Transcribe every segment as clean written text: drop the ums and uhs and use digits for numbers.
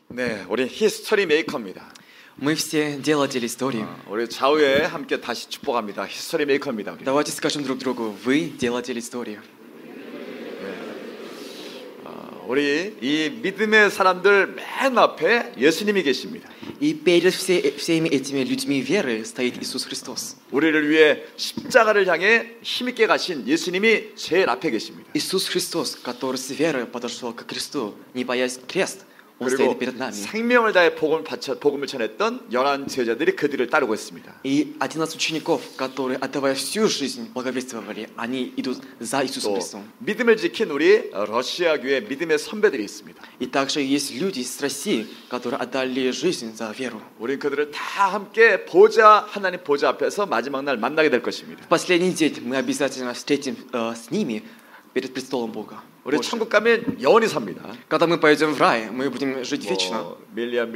네, 우리 히스토리 메이커입니다. Мы все делатели истории. 우리 좌우에 함께 다시 축복합니다. 히스토리 메이커입니다. 우리. Давайте скажем друг другу, вы делатели истории. 우리 이 믿음의 사람들 맨 앞에 예수님이 계십니다. И перед всеми этими людьми веры стоит Иисус Христос. 우리를 위해 십자가를 향해 힘있게 가신 예수님이 제일 앞에 계십니다. Иисус Христос, который с верой подошел к кресту, не боясь крест, Он стоит 그리고 перед нами. 생명을 다해 복음을 전했던 11 제자들이 그들을 따르고 있습니다. И 11 учеников, которые, отдавая всю жизнь, благовествовали, они идут за Иисусом 또 Христом. 믿음을 지킨 우리 러시아 교회 믿음의 선배들이 있습니다. И также есть люди с России, которые отдали жизнь за веру. 우리 그들을 다 함께 하나님 보좌 앞에서 마지막 날 만나게 될 것입니다. В последний день мы обязательно встретим с ними перед престолом Бога. 우리 천국 가면 영원히 삽니다. Когда мы пойдем в рай, мы будем жить вечно. 밀리언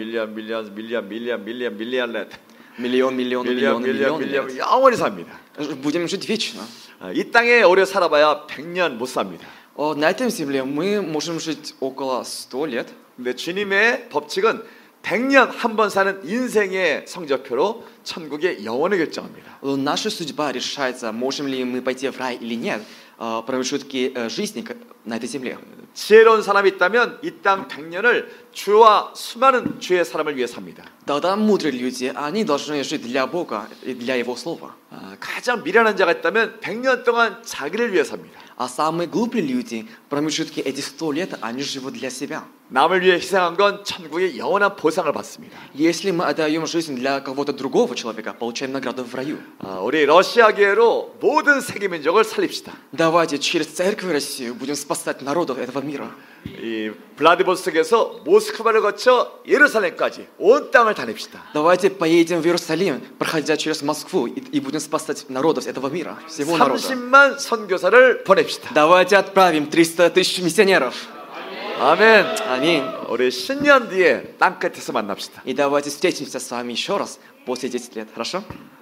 Миллион. 영원히 삽니다. Будем жить вечно. 이 땅에 오래 살아봐야 100년 못 삽니다. На этой земле мы можем жить около 100 лет. 근데 주님의 법칙은 100년 한 번 사는 인생의 성적표로 천국의 영원을 결정합니다. Наша судьба решается, можем ли мы пойти в рай или нет, промежутки жизни на этой земле. 지혜로운 사람이 있다면 이 땅 100년을 주와 수많은 주의 사람을 위해 삽니다. Тогда мудрые люди, они должны жить для Бога и для Его Слова. 가장 미련한 자가 있다면 100년 동안 자기를 위해 삽니다. А самые глупые люди, промежутки этих 100 лет, они живут для себя. 남을 위해 희생한 건 천국의 영원한 보상을 받습니다. Если мы отдаем жизнь для кого-то другого человека, получаем награду в раю. 우리 러시아 교회로 모든 세계 민족을 살립시다. Давайте через церковь Россию будем спасать народов этого мира. 이 블라디보스톡에서 모스크바를 거쳐 예루살렘까지 온 땅을 다닙시다. Давайте поедем в Иерусалим, проходя через Москву, и будем спасать народов этого мира, всего народа. 30만 선교사를 보냅시다. Давайте отправим 300 000 миссионеров. 아멘. Аминь. 우리 10년 뒤에 땅 끝에서 만납시다. И давайте встретимся с вами еще раз после 10 лет, хорошо?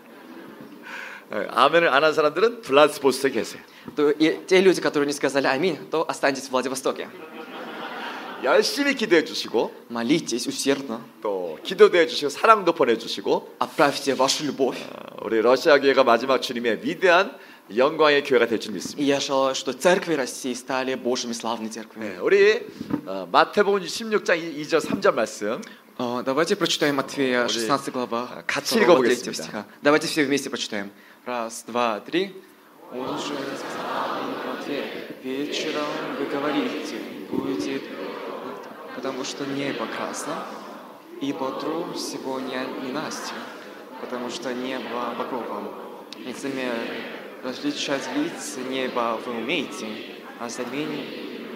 아멘을 안 한 사람들은 블라디보스톡에 계세요. Те люди, которые не сказали аминь, то останьтесь в Владивостоке. 열심히 기도해 주시고 Молитесь усердно. 또 기도도 해 주시고 사랑도 보내 주시고 Отправьте вашу любовь. 우리 러시아 교회가 마지막 주님의 위대한 영광의 교회가 될 줄 믿습니다. И я желаю, что церкви России стали Божьими славными церквями. 우리 마태복음 16장 2절 3절 말씀. Давайте прочитаем Матфея 16 глава. 같이 읽어보겠습니다. стиха. Давайте все вместе почитаем. Раз, два, три. Он же Матфея, вечером вы говорите, будет, потому что небо красно, и поутру сегодня ненастье, потому что небо багровым. Лицемер, различать лица неба вы умеете, а замене...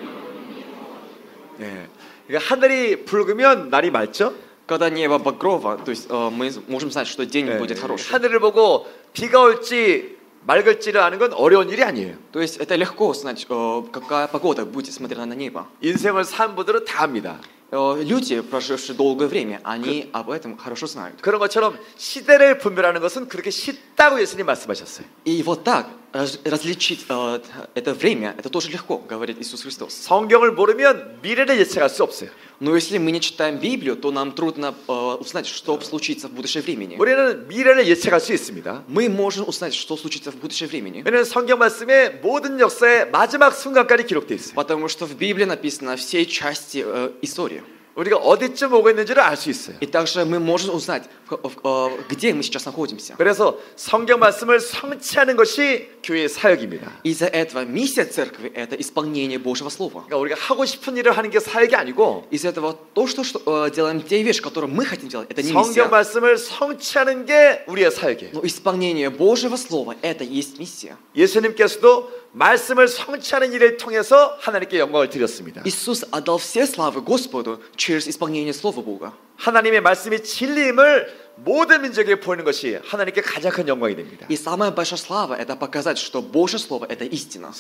그러니까 하늘이 붉으면 날이 맑죠? Когда небо багрово, то есть мы можем знать, что день будет хороший. 하늘을 보고 비가 올지 맑을지를 아는 건 어려운 일이 아니에요. То есть это легко знать, какая погода будет, смотря на небо. 인생을 산 분들은 다 압니다. Люди, прожившие долгое время, они об этом хорошо знают. 그런 것처럼 시대를 분별하는 것은 그렇게 쉽다고 예수님 말씀하셨어요. И вот так различить это время, это тоже легко, говорит Иисус Христос. 성경을 모르면 미래를 예측할 수 없어요. Но если мы не читаем Библию, то нам трудно узнать, что случится в будущем времени. 우리는 미래를 예측할 수 있습니다. Мы можем узнать, что случится в будущем времени. 왜냐하면 성경 말씀에 모든 역사의 마지막 순간까지 기록되어 있어요. Потому что в Библии написано все части истории. 우리가 어디쯤 오고 있는지를 알 수 있어요. И также мы можем узнать, где мы сейчас находимся. 그래서 성경 말씀을 성취하는 것이 교회의 사역입니다. Из-за этого миссия церкви – это исполнение Божьего Слова. 그러니까 우리가 하고 싶은 일을 하는 게 사역이 아니고 Из-за этого то, что делаем те вещи, которые мы хотим делать, это не 성경 миссия. 말씀을 성취하는 게 우리의 사역이에요. Но исполнение Божьего Слова – это есть миссия. 예수님께서도 말씀을 성취하는 일을 통해서 하나님께 영광을 드렸습니다. Иисус отдал все славы Господу через исполнение Слова Бога. 하나님의 말씀이 진리임을 모든 민족에게 보이는 것이 하나님께 가장 큰 영광이 됩니다. И самая большая слава – это показать, что Божье Слово – это истина.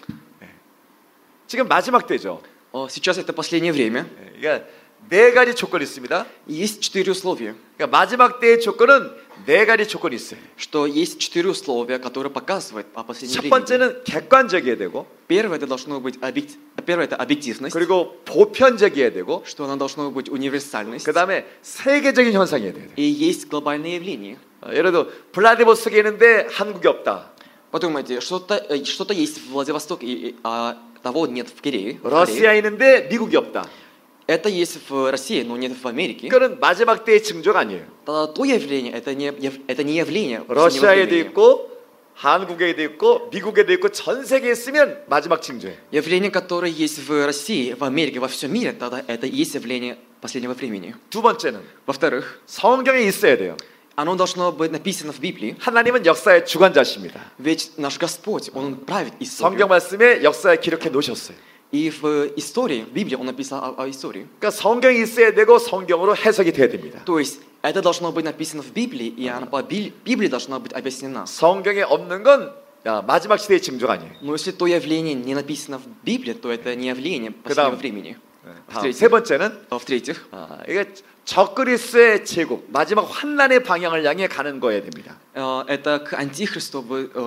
지금 마지막 때죠. Сейчас это последнее время. 그러니까 네 가지 조건이 있습니다. Есть 4 условия. 그러니까 마지막 때의 조건은 네 가지 조건이 있어요. Что есть 4 условия, которые показывают о последнем 첫 времени. 번째는 객관적이어야 되고, Первое – это должно быть Первое это объективность, 그리고 보편적이어야 되고 что она должна быть универсальность, 그 다음에 세계적인 현상이어야 돼요. и есть глобальное явление. 예를 들어 블라디보스토크에 있는데 한국이 없다. Подумайте, что-то есть в Владивостоке, а того нет в Корее. 러시아에 있는데 미국이 없다. Это есть в России, но нет в Америке. 그거는 마지막 때의 징조가 아니에요. Тогда то явление, это не явление. 러시아에도 있고 한국에도 있고 미국에도 있고 전 세계에 있으면 마지막 징조예요. Явление, которое есть в России, в Америке, во всем мире, тогда это и есть явление последнего времени. 두 번째는 Во-вторых, 성경에 있어야 돼요. оно должно быть написано в Библии, 하나님은 역사의 주관자십니다. ведь наш Господь, Он правит 성경 историю. 말씀에 역사에 기록해 놓으셨어요. И в истории, в Библии Он написал о истории. 그러니까 성경이 있어야 되고 성경으로 해석이 돼야 됩니다. То есть это должно быть написано в Библии, и она по Библии должна быть объяснена. 성경에 없는 건 마지막 시대의 징조가 아니에요. Но если то явление не написано в Библии, то это не явление последнего времени. 다음, 세 번째는 В-третьих, 이게 적그리스의 제국 마지막 환난의 방향을 향해 가는 거여야 됩니다. это к антихристу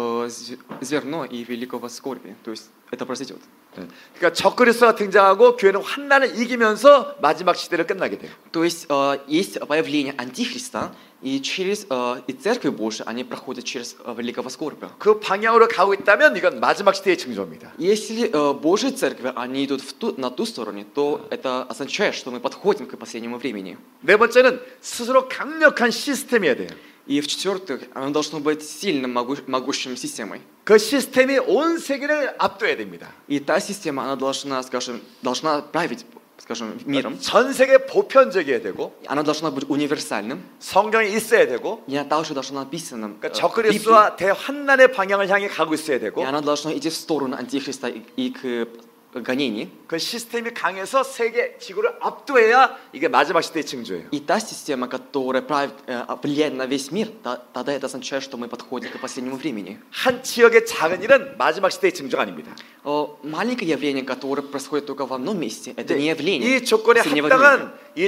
зерно и великого скорби. То есть это произойдет. 그러니까 적그리스도가 등장하고 교회는 환난을 이기면서 마지막 시대를 끝나게 돼요. То есть есть появление антихриста, и через и церкви Божьи они проходят через великого скорбя. 그 방향으로 가고 있다면 이건 마지막 시대의 징조입니다. Если Божьи церкви они идут на ту сторону, то это означает, что мы подходим к последнему времени. 네 번째는 스스로 강력한 시스템이어야 돼요. И в-четвертых, оно должно быть сильным, могущим системой. 그 시스템이 온 세계를 압도해야 됩니다. И та система, она должна, скажем, должна править, скажем, миром. 전 세계 보편적이어야 되고 Она должна быть универсальным. 성경에 있어야 되고 И она также должна написана в 그러니까 Библии. 적그리스도와 대환난의 방향을 향해 가고 있어야 И 되고 она должна идти в сторону антихриста и к гонению. 그 시스템이 강해서 세계 지구를 압도해야 이게 마지막 시대의 징조예요. И та система, которая правит, влияет на весь мир, тогда это означает, что мы подходим к последнему времени. 한 지역의 작은 일은 마지막 시대의 징조가 아닙니다. Маленькое явление, которое происходит только в одном месте, это не явление 이 조건에 последнего времени.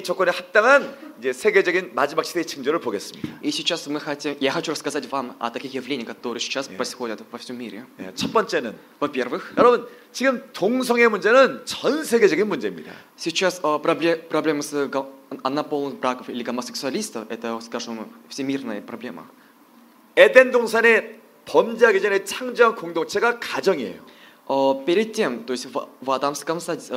합당한 이제 세계적인 마지막 시대의 징조를 보겠습니다. И сейчас я хочу рассказать вам о таких явлениях, которые сейчас происходят во всем мире. 첫 번째는 Во-первых, 여러분 지금 동성애 문제는 전 세계적인 문제입니다. сейчас проблема с однополых браков или гомосексуалистов, это, скажем, всемирная проблема. 에덴 동산에 범죄하기 전에 창조한 공동체가 가정이에요. Перед тем, то есть в Адамском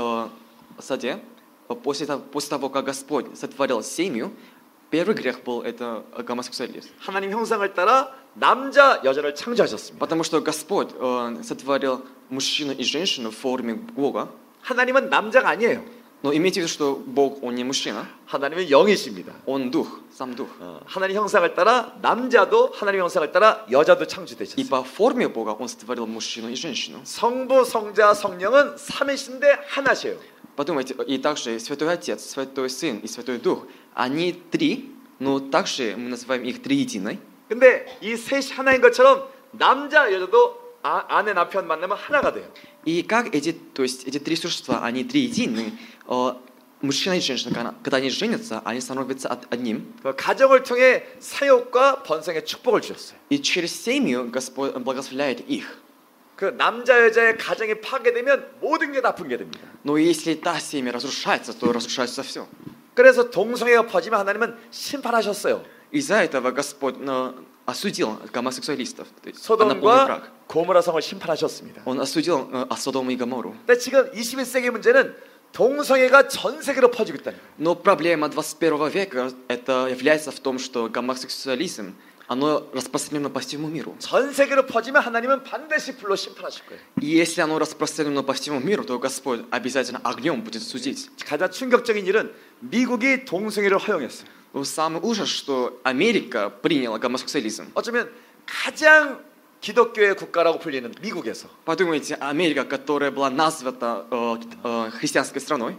саде, после того, как Господь сотворил семью, первый грех был это гомосексуализм. 하나님 형상을 따라 남자 여자를 창조하셨습니다. Потому что Господь сотворил мужчину и женщину в форме Бога. 하나님은 남자가 아니에요. Но имейте в виду, что Бог, Он не мужчина, 하나님은 영이십니다. Он дух, сам дух. 하나님 형상을 따라 남자도 하나님 형상을 따라 여자도 И 창조되셨어요. по форме Бога Он сотворил мужчину и женщину. 성부, 성자, 성령은 삼위신데 하나시에요. Подумайте, и также Святой Отец, Святой Сын и Святой Дух, они три, но также мы называем их триединой. 근데 이 셋이 하나인 것처럼 남자, 여자도 아내, 남편 만나면 하나가 돼요. И как то есть эти три существа, они триедины, мужчина и женщина, когда они женятся, они становятся одним. 그 가정을 통해 사역과 번성의 축복을 주셨어요. И через семью Господь благословляет их. 그 남자 여자의 가정이 파괴되면 모든 게 다 붕괴됩니다. Но если та семья разрушается, то разрушается все. 그래서 동성애가 퍼지면 하나님은 심판하셨어요. Из-за этого Господь осудил гомосексуалистов, то есть однополый 소돔과 брак. 고모라 성을 심판하셨습니다. Он осудил Содом и Гоморру. 근데 지금 21세기 문제는 동성애가 전 세계로 퍼지고 있다는 거예요. Но проблема 21 века это является в том, что гомосексуализм оно распространено по всему миру. 전 세계로 퍼지면 하나님은 반드시 불로 심판하실 거예요. И если оно распространено по всему миру, то Господь обязательно огнем будет судить. 가장 충격적인 일은 미국이 동성애를 허용했어요. Но самый ужас, что Америка приняла гомосексуализм. 어쩌면 가장 기독교의 국가라고 불리는 미국에서 Подумайте, Америка, которая была названа христианской страной,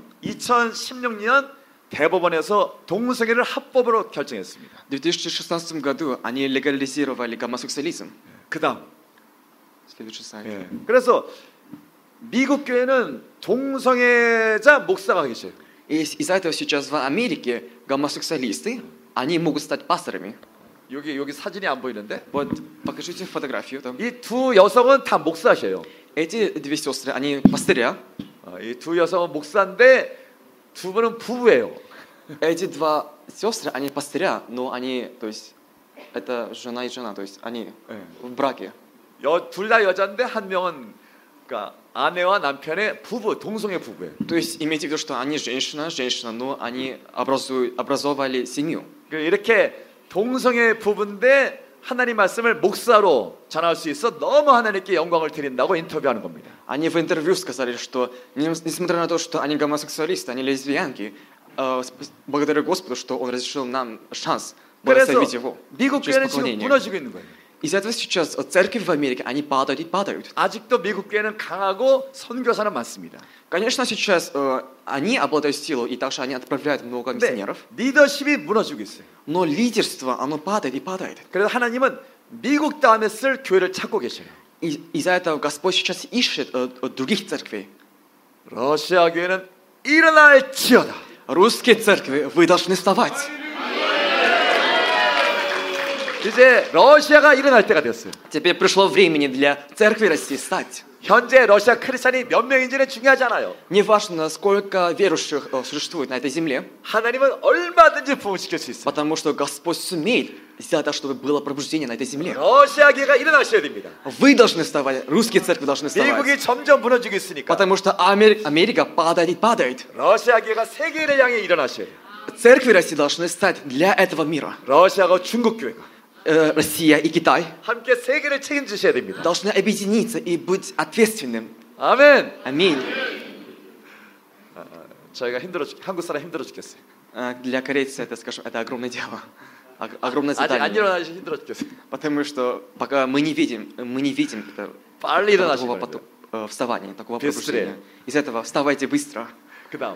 2016년 대법원에서 동성애를 합법으로 결정했습니다. в 2016 году они легализировали гомосексуализм. 그다음 Следующий слайд. 그래서 미국 교회는 동성애자 목사가 계셔요. И из-за этого сейчас в Америке гомосексуалисты, они могут стать пасторами. 여기 사진이 안 보이는데 Вот, покажите фотографию там. 이 두 여성은 다 목사셔요. Эти две сестры, они пастыря. 이 두 여성은 목사인데 두 분은 부부예요. Эти два сестры, они пастыря, но они, то есть, это жена и жена, то есть они в браке. 둘 다 여자인데 한 명은 그러니까 아내와 남편의 부부, 동성애 부부예요. То есть имейте в виду, что они женщина, но они образовали семью. 이렇게 동성애 부부인데 하나님 말씀을 목사로 전할 수 있어 너무 하나님께 영광을 드린다고 인터뷰하는 겁니다. Они в интервью сказали, что несмотря на то, что они гомосексуалисты, они лесбиянки, благодаря Господу, что Он разрешил нам шанс 그래서 благословить Его 미국 через 교회는 지금 поклонение. 무너지고 있는 거예요. Из-за этого сейчас церкви в Америке, они падают и падают. 아직도 미국 교회는 강하고 선교사는 많습니다. Конечно, сейчас они обладают силой, и также они отправляют много 근데 миссионеров. 리더십이 무너지고 있어요. Но лидерство, оно падает и падает. 그래서 하나님은 미국 다음에 쓸 교회를 찾고 계셔요. И из-за этого Господь сейчас ищет других церквей. 러시아 교회는 일어날지어다. Русские церкви, вы должны вставать. 이제 러시아가 일어날 때가 됐어요. Теперь пришло времени для церкви России стать. 현재 러시아 크리스찬이 몇 명인지는 중요하지 않아요. Неважно, сколько верующих существует на этой земле, 하나님은 얼마든지 부흥시킬 수 있어요. потому что Господь сумеет сделать так, чтобы было пробуждение на этой земле. 러시아 교회가 일어나셔야 됩니다. Вы должны вставать, русские церкви должны вставать. 미국이 점점 무너지고 있으니까 Потому что Америка падает и падает. 러시아 교회가 세계를 향해 일어나셔야 돼요. Церкви России должны стать для этого мира. 러시아가 중국 교회가 Россия и Китай 함께 세계를 책임지셔야 됩니다. должны объединиться и быть ответственным. 아멘. Аминь. 저희가 한국 사람 힘들어 죽겠어요. Для корейцев это, скажем, это огромное дело, огромное 아직 안 задание. 일어나셔 힘들어 죽겠어요. Потому что пока мы не видим это, 빨리 일어나시고. такого вставания, такого Быстрее. пробуждения. Из этого вставайте быстро. 그다음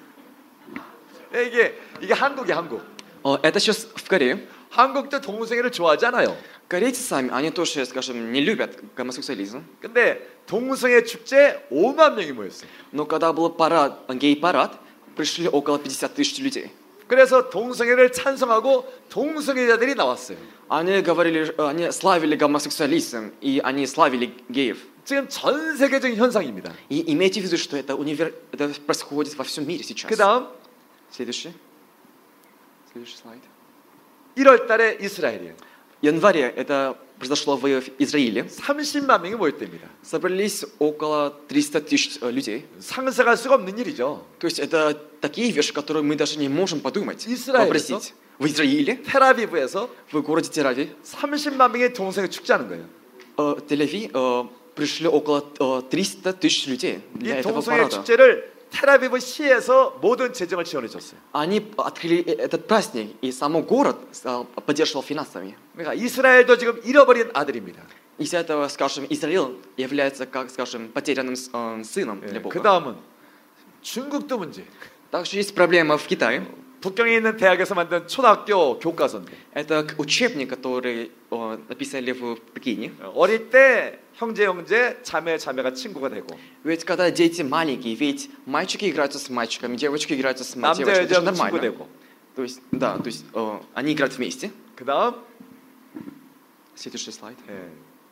이게 한국이야 한국. Это сейчас в Корее. 한국도 동성애를 좋아하지 않아요. Корейцы сами, они тоже, скажем, не любят гомосексуализм. 근데 동성애 축제 5만 명이 모였어요. Но когда был парад, гей-парад, пришли около 50 тысяч людей. 그래서 동성애를 찬성하고 동성애자들이 나왔어요. Они славили гомосексуализм, и они славили геев. 지금 전 세계적인 현상입니다. И имейте в виду, что это происходит во всем мире сейчас. 그다음 Следующий слайд. 1월 달에 이스라엘이에요. В январе это произошло в Израиле. 30만 명이 모였답니다. Собрались около 300 тысяч людей. 상상할 수가 없는 일이죠. То есть это такие вещи, которые мы даже не можем подумать, Израиль, вообразить. В Израиле, 텔아비브에서 в городе Тель-Авив, 30만 명의 동성애 축제하는 거예요. Тель-Авив пришли около 300 тысяч людей для 이 этого 동성애 парада. 축제를 텔아비브 시에서 모든 재정을 지원해 줬어요. Они открыли этот праздник, и сам город поддерживал финансами. 그러니까 이스라엘도 지금 잃어버린 아들입니다. Из-за этого, скажем, Израиль является, как, скажем, потерянным сыном для Бога. 그 다음은 중국도 문제. Также есть проблема в Китае. 북경에 있는 대학에서 만든 초등학교 교과서인데 Это учебник, который написали в Пекине. 어릴 때 형제 자매가 친구가 되고 Ведь когда дети маленькие, ведь мальчики играются с мальчиками, девочки играются с 남자 девочками, это же 여자가 친구 нормально. 되고 То есть, да, то есть они играют вместе. 그다음 Следующий слайд. 예,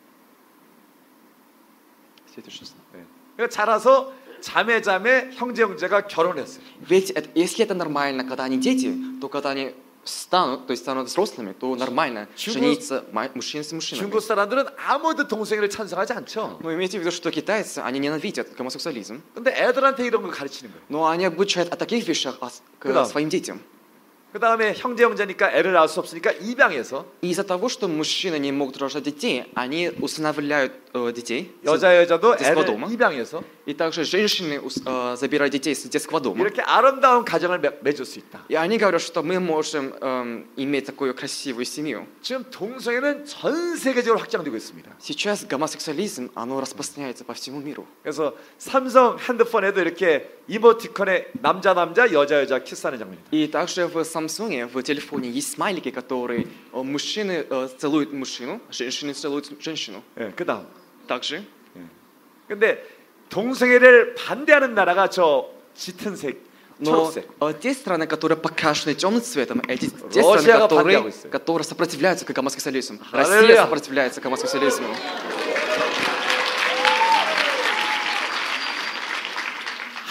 Следующий слайд. 예. 그러니까 자라서 자매 형제가 결혼했어요. Ведь если это нормально, когда они дети, то когда они станут взрослыми, то нормально жениться мужчина с мужчиной. 중국 사람들은 아무도 동성애를 찬성하지 않죠. Но имейте в виду, что китайцы, они ненавидят гомосексуализм, 근데 애들한테 이런 걸 가르치는 거예요. но они обучают о таких вещах 그다음. своим детям. 그다음에 형제니까 애를 낳을 수 없으니까 입양해서 И из-за того, что мужчины не могут рожать детей, они усыновляют детей. 여자도 детского 애를 дома. 입양해서 И также женщины забирают детей с детского дома. 이렇게 아름다운 가정을 맺을 수 있다. И они говорят, что мы можем иметь такую красивую семью. 지금 동성애는 전 세계적으로 확장되고 있습니다. Сейчас гомосексуализм, оно распространяется по всему миру. 그래서 삼성 핸드폰에도 이렇게 이모티콘에 남자 여자 키스하는 장면입니다. И также в Samsung, в телефоне есть смайлики, которые мужчины целуют мужчину, женщины целуют женщину. 예, 그다음. Также. 근데 동성애를 반대하는 나라가 저 짙은 색, Но 초록색. те страны, которые покрашены темным цветом, те Россия страны, 반대하고 있어요. которые сопротивляются к гомосексуализму. Аллилуйя. Россия сопротивляется к гомосексуализму.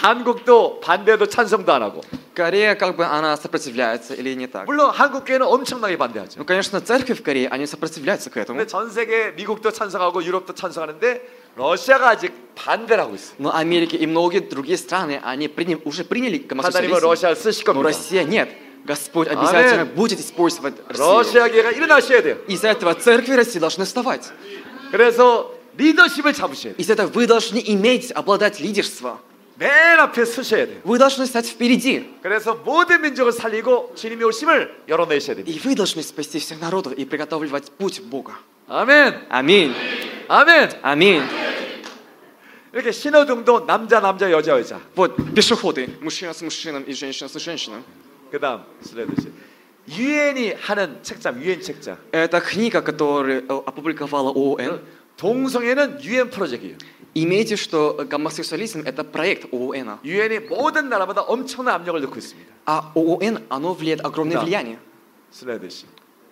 한국도 반대도 찬성도 안 하고. Корея, как бы, она сопротивляется или не так? 물론 한국 교회는 엄청나게 반대하죠. Ну, конечно, церковь в Корее, они сопротивляются к этому. 근데 전 세계 미국도 찬성하고 유럽도 찬성하는데 러시아가 아직 반대를 하고 있어요. Но Америка и многие другие страны, они уже приняли 하나님은 гомосексуализм. 러시아를 쓰실 Но 겁니다. Россия нет. Господь обязательно будет использовать Россию. 러시아 교회가 일어나셔야 돼요. Из-за этого церкви России должны вставать. 그래서 리더십을 잡으셔야 돼요. Из-за этого вы должны обладать лидерством. 맨 앞에 서셔야 돼요. Вы должны стать впереди. 그래서 모든 민족을 살리고 주님의 오심을 열어내셔야 됩니다. И вы должны спасти всех народов и приготавливать путь Бога. 아멘. Аминь. 아멘. Аминь. 이렇게 신호등도 남자 여자. Вот пешеходы. Мужчина с мужчиной и женщина с женщиной. 그다음 슬라이드. 유엔이 하는 책장, 유엔 책장. Это книга, которую опубликовала ООН. 동성애는 유엔 프로젝트예요. Имейте, что гомосексуализм – это проект ООН. 유엔이 모든 나라마다 엄청난 압력을 넣고 있습니다. А ООН, оно влияет огромное влияние. 슬라이드씨.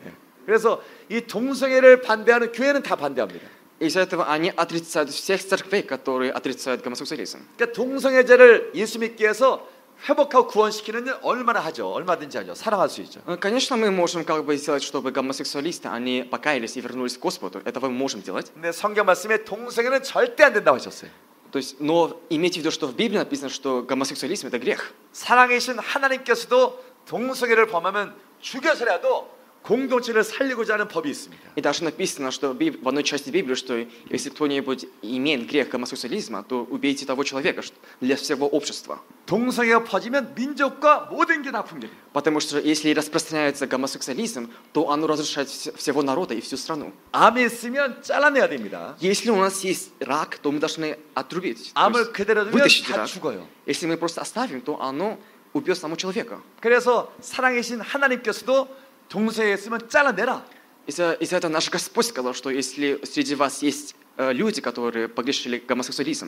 그래서 이 동성애를 반대하는 교회는 다 반대합니다. Из-за этого они отрицают всех церквей, которые отрицают гомосексуализм. 그러니까 동성애자를 예수 믿게 해서 회복하고 구원시키는 일 얼마나 하죠. 얼마든지 하죠. 사랑할 수 있죠. Конечно, мы можем как бы сделать, чтобы гомосексуалисты, они покаялись и вернулись к Господу. Этого мы можем делать. 근데 성경 말씀에 동성애는 절대 안 된다고 하셨어요. То есть, но имейте в виду, что в Библии написано, что гомосексуализм – это грех. 사랑이신 하나님께서도 동성애를 범하면 죽여서라도 공동체를 살리고자 하는 법이 있습니다. И даже написано, что в одной части Библии, что если кто-нибудь имеет грех гомосексуализма, то убейте того человека для всего общества. 동성애가 퍼지면 민족과 모든 게 나쁜 길이에요. Потому что если распространяется гомосексуализм, то оно разрушает всего народа и всю страну. 암이 있으면 잘라내야 됩니다. Если у нас есть рак, то мы должны отрубить, 암을 그대로 두면 вытащить 다 рак. 죽어요. Если мы просто оставим, то оно убьет самого человека. 그래서 사랑이신 하나님께서도 동성애에 있으면 잘라내라. Из-за этого наш Господь сказал, что если среди вас есть люди, которые погрешили гомосексуализм,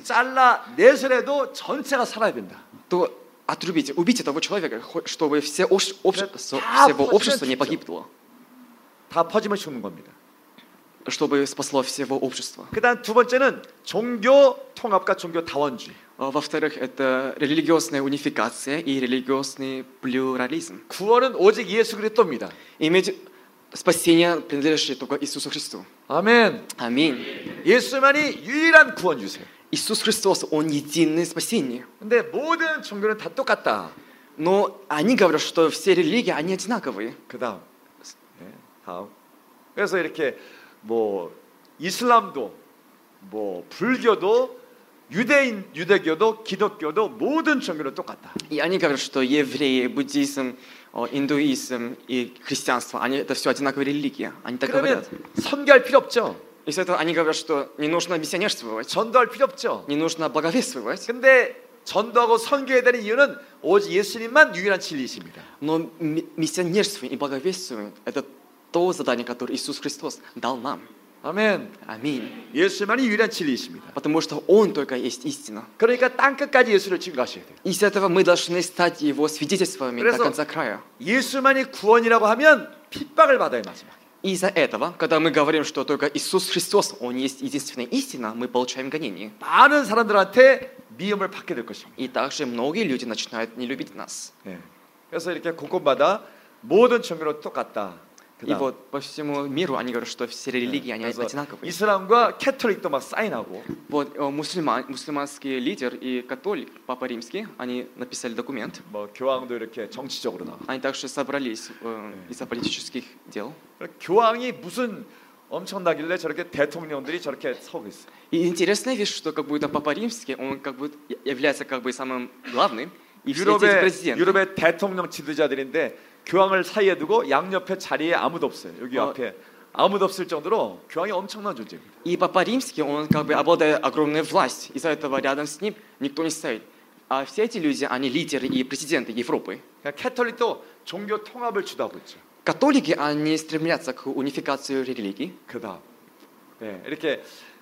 잘라내서라도 전체가 살아야 된다. то отрубите, убейте того человека, чтобы всего общества не погибло, 다 퍼지면 죽는 겁니다. чтобы спасло всего общества. 그다음 두 번째는 종교 통합과 종교 다원주의. Во-вторых, это религиозная унификация и религиозный плюрализм. 구원은 오직 예수 그리스도입니다. Иметь спасение принадлежит только Иисусу Христу. 아멘. Аминь. 예수만이 유일한 구원 주세요. Иисус Христос, Он единое спасение. 근데 모든 종교는 다 똑같다. Но они говорят, что все религии, они одинаковые. 그다음. 다음. 그래서 이렇게 뭐 이슬람도 뭐 불교도 유대교도 기독교도 모든 종교는 똑같다. И они говорят, что евреи, буддизм, индуизм и христианство, они это все одинаковые религии. Они так 그러면 говорят. 선교할 필요 없죠. Из-за этого они говорят, что не нужно миссионерствовать, 전도할 필요 없죠. не нужно благовествовать. 근데 전도하고 선교해야 되는 이유는 오직 예수님만 유일한 진리이십니다. Но миссионерство и благовествие – это то задание, которое Иисус Христос дал нам. 아멘. Аминь. 예수만이 유일한 진리이십니다. Потому что Он только есть истина. 그러니까 땅 끝까지 예수를 증거하셔야 돼요. Из этого мы должны стать Его свидетельствами до конца края. 예수만이 구원이라고 하면 핍박을 받아요 마지막에. Из-за этого, когда мы говорим, что только Иисус Христос, Он есть единственная истина, мы получаем гонение. 많은 사람들한테 미움을 받게 될 것입니다. И также многие люди начинают не любить нас. 네. 그래서 이렇게 곳곳마다 모든 종교는 똑같다. И вот по всему миру они говорят, что все религии, они одинаковые. 이슬람과 캐톨릭도 막 사인하고. Вот мусульманский лидер и католик, Папа Римский, они написали документ. 뭐 교황도 이렇게 정치적으로 나와. Они также собрались из-за политических дел. 교황이 무슨 엄청나길래 저렇게 대통령들이 저렇게 서고 있어. И интересная вещь, что как будто Папа Римский, он как бы является как бы самым главным. И все эти президенты. 유럽의 대통령 지도자들인데 교황을 사이에 두고 양옆에 자리에 아무도 없어요. 여기 앞에 아무도 없을 정도로 교황이 엄청난 존재입니다. И Папа Римский, он как бы обладает огромной властью. Из-за этого рядом с ним никто не стоит. А все эти люди, они лидеры и президенты Европы. 캐톨릭도 종교 통합을 주도하고 있죠. Католики, они стремятся к унификации религий. 그다음, 네, 이렇게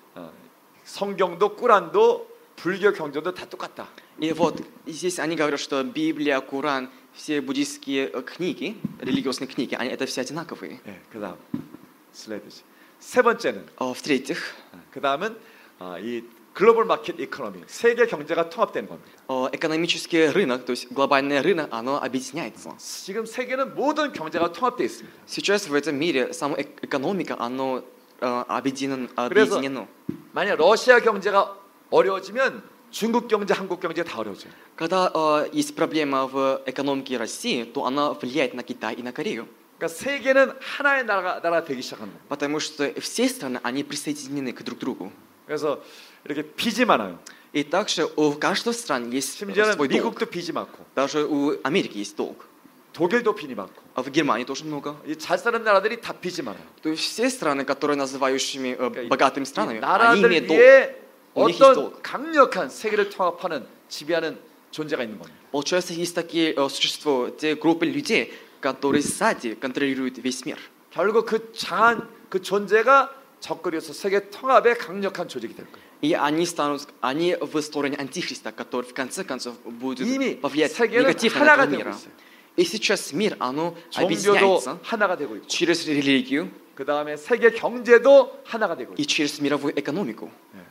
성경도 꾸란도 불교 경전도 다 똑같다. И вот здесь они говорят, что Библия, Коран, все буддийские книги, религиозные книги, они это все одинаковые. 네, 그다음 슬라이드. 세 번째는 В-третьих, 그다음은 이 글로벌 마켓 이코노미, 세계 경제가 통합된 겁니다. Экономический рынок, то есть глобальный рынок, оно объединяется. 지금 세계는 모든 경제가 통합되어 있습니다. Сейчас в этом мире сама экономика, оно 그래서 объединено. 만약 러시아 경제가 어려워지면 중국 경제, 한국 경제 다 어려워져요. Когда есть проблема в экономике России, то она влияет на Китай и на Корею. 그러니까 세계는 하나의 나라가 되기 시작하는 거예요. Потому что все страны, они присоединены к друг другу. 그래서 이렇게 빚이 많아요. И также у каждой страны есть 심지어는 свой долг. 미국도 빚이 많고, Даже у Америки есть долг. 독일도 빚이 많고, А в Германии тоже много. 이 잘 사는 나라들이 다 빚이 많아요. То есть все страны, которые называющими богатыми 이 странами, они 나라들 имеют долг. 위에 У них есть 어떤 долг. 강력한 세계를 통합하는 지배하는 존재가 있는 겁니다. Получается, есть такие существа, те группы людей, которые сзади контролируют весь мир. 결국 그 장한 그 존재가 적그리에서 세계 통합의 강력한 조직이 될 거예요. И они в стороне антихриста, который в конце концов будет 이미 повлиять 세계는 негативно на 하나가 этот 되고 мир. 있어요. И сейчас мир, оно 종교도 объединяется 하나가 되고 있고, через религию 그 다음에 세계 경제도 하나가 되고 и 있고, через мировую экономику.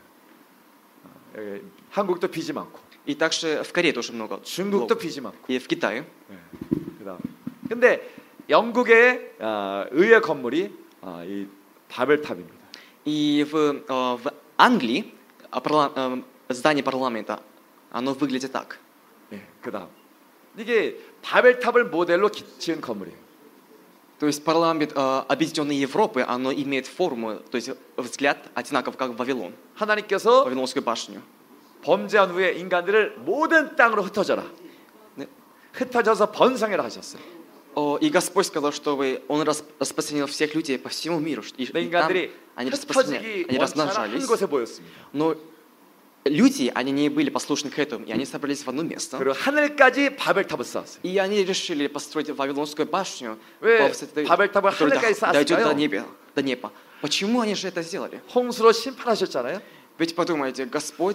한국도 빚이 많고, И также в Корее тоже много. 중국도 долгов. 빚이 많고, И в Китае. 그다음. 근데 영국의 의회 건물이 이 바벨탑입니다. И в Англии здание парламента, оно выглядит так. 그다음. 이게 바벨탑을 모델로 지은 건물이에요. То есть парламент Объединенной Европы, оно имеет форму, то есть взгляд одинаков, как Вавилон, 하나님께서 Вавилонскую башню. 범죄한 후에 인간들을 모든 땅으로 흩어져라. 네. 흩어져서 번성해라 하셨어요. И Господь сказал, чтобы Он распространил всех людей по всему миру, и 근데 там 인간들이 они распространяли, 흩어지기 они 원치 않아 한 размножались. 곳에 모였습니다. Но люди, они не были послушны к этому, и они собрались в одно место. 그리고 하늘까지 바벨탑을 쌓았어요. И они решили построить Вавилонскую башню, 왜 которая 바벨탑을 하늘까지 дойдет 쌓았을까요? до неба. Почему они же это сделали? 홍수로 심판하셨잖아요. Ведь подумайте, Господь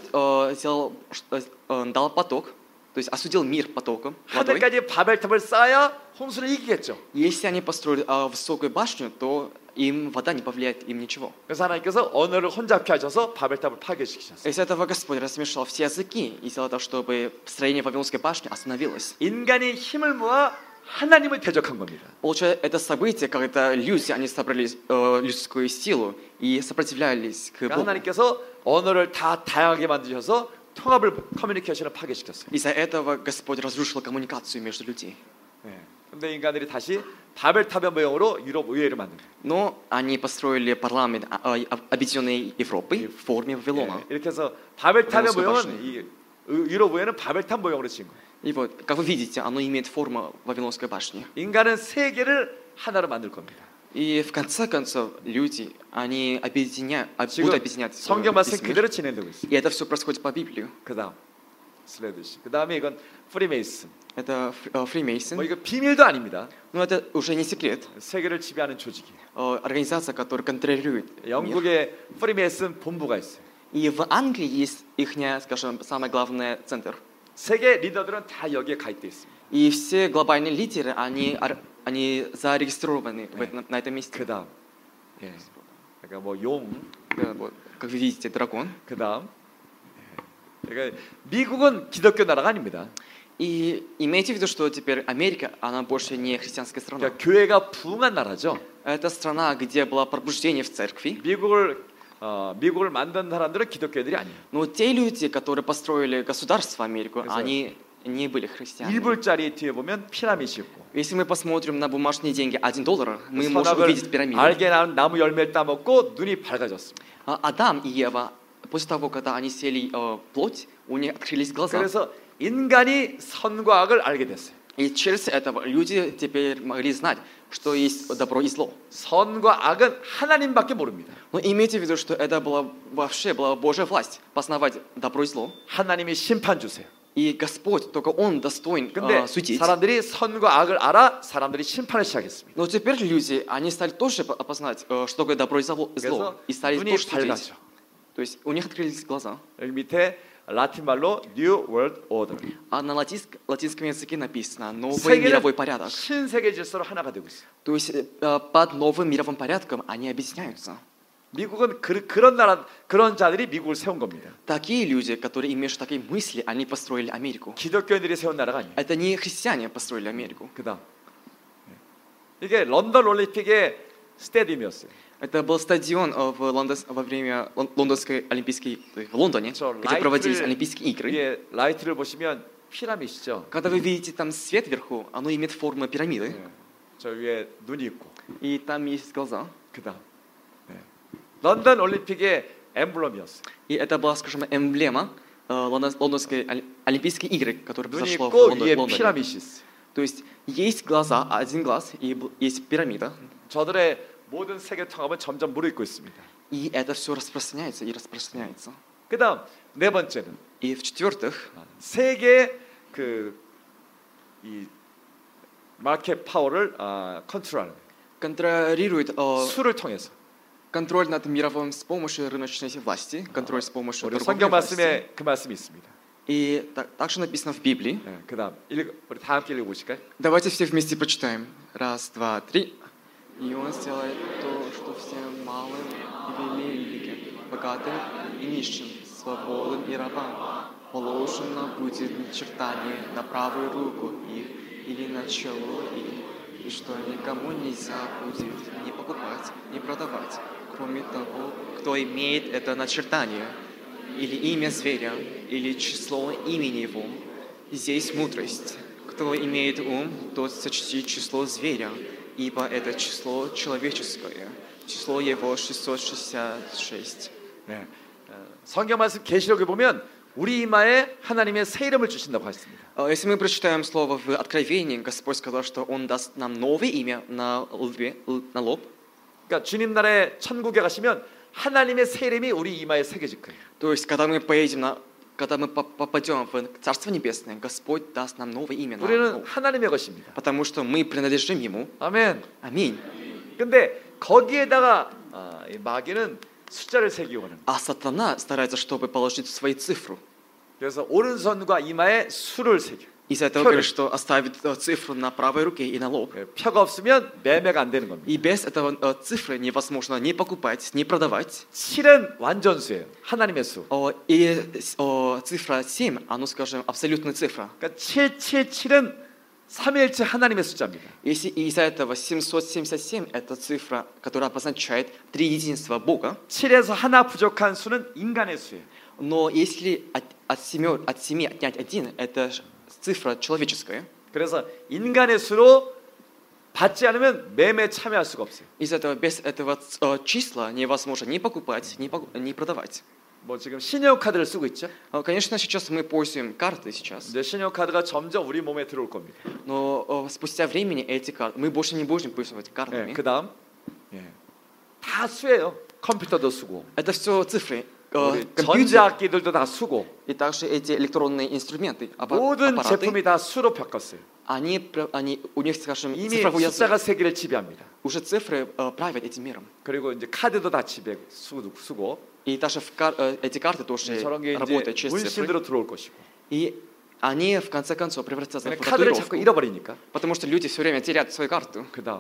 дал поток, то есть осудил мир потоком, водой. 하늘까지 바벨탑을 쌓아야 홍수를 이기겠죠. Если они построят высокую башню, то им вода не повлияет им ничего. 그래서 하나님께서 언어를 혼잡케 하셔서 바벨탑을 파괴시키셨어요. Из этого Господь размешал все языки и сделал так, чтобы строение Вавилонской башни остановилось. 인간이 힘을 모아 하나님을 대적한 겁니다. Получается, это событие, когда люди, они собрались людскую силу и сопротивлялись к 그러니까 Богу. 하나님께서 언어를 다 다양하게 만드셔서 통합을 커뮤니케이션을 파괴시켰어요. Из-за этого Господь разрушил коммуникацию между людьми. 근데 인간들이 다시 바벨탑의 모형으로 유럽 의회를 만든 거예요. Но они построили парламент Объединенной Европы в форме Вавилона. 이렇게 해서 바벨탑의 그래서 모형은 이 유럽 의회는 바벨탑 모형으로 지은 거예요. И вот, как вы видите, оно имеет форму Вавилонской башни. 인간은 세계를 하나로 만들 겁니다. И в конце концов люди, они будут 지금 объединять 성경 말씀 весь мир. 그대로 진행되고 있어요. И это все происходит по Библии. 그다음 슬레드시. 그다음에 이건 프리메이슨. Это 뭐 Freemason. 이거 비밀도 아닙니다. Но это уже не секрет. 세계를 지배하는 조직이에요. Организация, которая контролирует мир. 영국에 프리메이슨 본부가 있어요. И в Англии есть их, скажем, самый главный центр. 세계 리더들은 다 여기에 가입돼 있습니다. И все глобальные лидеры, они зарегистрированы на этом месте. 그다음, 그러니까 뭐 용, Вот, как вы видите, дракон. 그다음, 그러니까 미국은 기독교 나라가 아닙니다. И имейте в виду, что теперь Америка, она больше не христианская страна. 그러니까 교회가 부흥한 나라죠. Это страна, где было пробуждение в церкви. 미국을 만든 사람들은 기독교인들이 아니에요. Но те люди, которые построили государство Америку, они не были христианами. 1불짜리 뒤에 보면 피라미드 있고. Если мы посмотрим на бумажные деньги $1, мы можем увидеть пирамиду. 알게 나온 나무 열매를 따먹고 눈이 밝아졌습니다. Адам и Ева, после того, когда они съели плоть, у них открылись глаза. 그래서 인간이 선과 악을 알게 됐어요. И через это люди теперь могли знать, что есть добро и зло. 선과 악은 하나님밖에 모릅니다. Но имейте в виду, что это была Божья власть, познавать добро и зло. 하나님이 심판 주세요. И Господь, только Он достоин 근데 судить. 사람들이 선과 악을 알아 사람들이 심판을 시작했습니다. Но теперь люди, они стали тоже опознать, что такое добро и зло, и стали 눈이 тоже судить. 밝아져. То есть у них открылись глаза. 여기 밑에 라틴 말로 New World Order. А на латинском языке написано «новый 세계는 мировой порядок». 신세계 질서로 하나가 되고 있어요. То есть под новым мировым порядком они объединяются. 미국은 그런 나라 그런 자들이 미국을 세운 겁니다. Такие люди, которые имеют такие мысли, они построили Америку. 기독교인들이 세운 나라가 아니에요. Это не христиане построили Америку. 그다음 이게 런던 올림픽의 스테디움이었어요. Это был стадион во время лондонской олимпийской, в Лондоне, где проводились Олимпийские игры. 위에 라이트를 보시면 피라미드죠. Когда вы видите там свет вверху, оно имеет форму пирамиды, 저 위에 눈이 있고. и там есть глаза. 그다음 런던 올림픽의 엠블럼이었어요. И это была, скажем, эмблема лондонской Олимпийской игры, которая 눈이 произошла в 있고 위에 Лондоне. 피라미드 있어요. То есть есть глаза, один глаз, и есть пирамида. 저들의 모든 세계 통합은 점점 무르익고 있습니다. И это все распространяется и распространяется. 그다음 네 번째는 И в-четвертых, 세계 이 마켓 파워를 컨트롤하는 контролирует 수를 통해서. контроль над мировым с помощью рыночной власти, контроль с помощью 우리 торговой 성경 власти. 말씀에 그 말씀이 있습니다. И также написано в Библии. 그다음 우리 다 함께 읽어보실까요? Давайте все вместе прочитаем. Раз, два, три. И он сделает то, что всем малым и великим, богатым и нищим, свободным и рабам положено будет начертание на правую руку их или на чело их, и что никому нельзя будет ни покупать, ни продавать, кроме того, кто имеет это начертание, или имя зверя, или число имени его. Здесь мудрость. Кто имеет ум, тот сочти число зверя, ибо это число человеческое. число его 666. 네. 성경 말씀 계시록에 보면 우리 이마에 하나님의 새 이름을 주신다고 했습니다. Если мы прочитаем слово в Откровении, Господь сказал, что Он даст нам новое имя на лоб. 그러니까 주님 나라에 천국에 가시면 하나님의 새 이름이 우리 이마에 새겨질 거예요. То есть, когда мы попадем в Царство Небесное, Господь даст нам новое имя на 우리는 лоб. 하나님의 것입니다. Потому что мы принадлежим Ему. 아멘. Аминь. 근데 거기에다가 이 마귀는 숫자를 새기고 하는. А сатана старается, чтобы положить свою цифру. 그래서 오른손과 이마에 수를 새겨. Из-за этого говорит, что оставит цифру на правой руке и на лоб. 표가 없으면 매매가 안 되는 겁니다. И без этого цифры невозможно ни покупать, ни продавать. 7은 완전수예요. 하나님의 수. И цифра 7, оно, скажем, абсолютная цифра. 그러니까 777은 삼위일체 하나님의 숫자입니다. Если из-за этого 777 это цифра, которая обозначает триединство Бога. 7에서 하나 부족한 수는 인간의 수예요. Но если от 7 отнять 1, это цифра человеческая. 그래서 인간의 수로 받지 않으면 매매에 참여할 수가 없어요. Из-за этого без этого числа невозможно ни покупать, ни продавать. 뭐 지금 신용카드를 쓰고 있죠. Конечно, сейчас мы пользуем карты сейчас. 이제 신용카드가 점점 우리 몸에 들어올 겁니다. Но спустя времени эти карты мы больше не будем пользоваться картами. 그다음 다 수예요. 컴퓨터도 쓰고. Это все цифры. 전자악기들도 다 수고. И также эти электронные инструменты, 모든 аппараты. 제품이 다 수로 바꿨어요. У них, скажем, 이미 цифровой язык. 숫자가 세계를 지배합니다. Уже цифры правят этим миром. 그리고 이제 카드도 다 지배 수고. И даже эти карты тоже 저런 게 работают 이제 через цифры. 문신으로 들어올 것이고. И они в конце концов превратятся в 카드를 자꾸 татуировку. 잃어버리니까. Потому что люди все время теряют свою карту. 그다음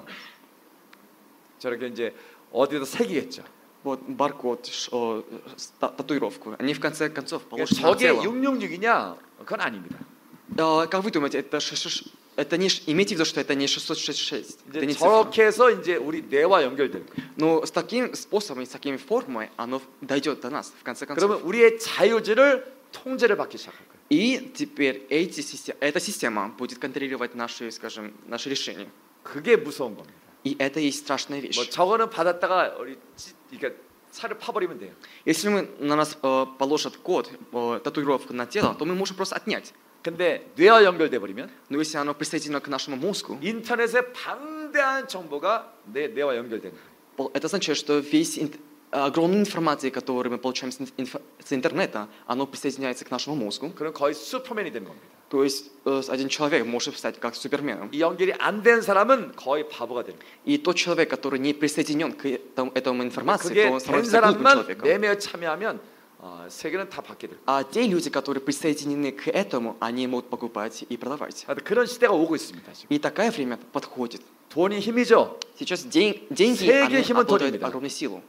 저렇게 이제 어디다 새기겠죠. Вот баркод, татуировку. Они в конце концов положат на 저게 тело. 666이냐? 그건 아닙니다. Как вы думаете, это не имейте в виду, что это не 666. Это не 이제 цифра. 저렇게 해서 이제 우리 뇌와 연결될 거예요. Но с таким способом, с такими формой, оно дойдет до нас в конце концов. 그러면 우리의 자유지를 통제를 받기 시작할 거예요. И теперь эта система будет контролировать наши, скажем, наши решения. 그게 무서운 겁니다. И это и есть страшная 뭐 вещь. 저거는 받았다가 우리 그러니까 살을 파버리면 돼요. Если на нас положат код, татуировку на тело, то мы можем просто отнять. 근데 뇌와 연결돼 버리면 Но если оно присоединено к нашему мозгу, 인터넷에 방대한 정보가 뇌와 연결되는 거예요. это означает, что весь огромная информация, которую мы получаем с интернета, оно присоединяется к нашему мозгу. 그럼 거의 슈퍼맨이 되는 겁니다. То есть один человек может стать как суперменом. 이 연결이 안 된 사람은 거의 바보가 되는 거예요. И тот человек, который не присоединен к этому информации, 그게 то он 된 становится глупым 사람만 человеком. 매매에 참여하면 세계는 다 바뀌게 돼요. А те люди, которые присоединены к этому, они могут покупать и продавать. 그런 시대가 오고 있습니다. 지금. И такое время подходит. 돈이 힘이죠. Сейчас деньги 세계의 они 힘은 обладают 돈입니다. огромной силой.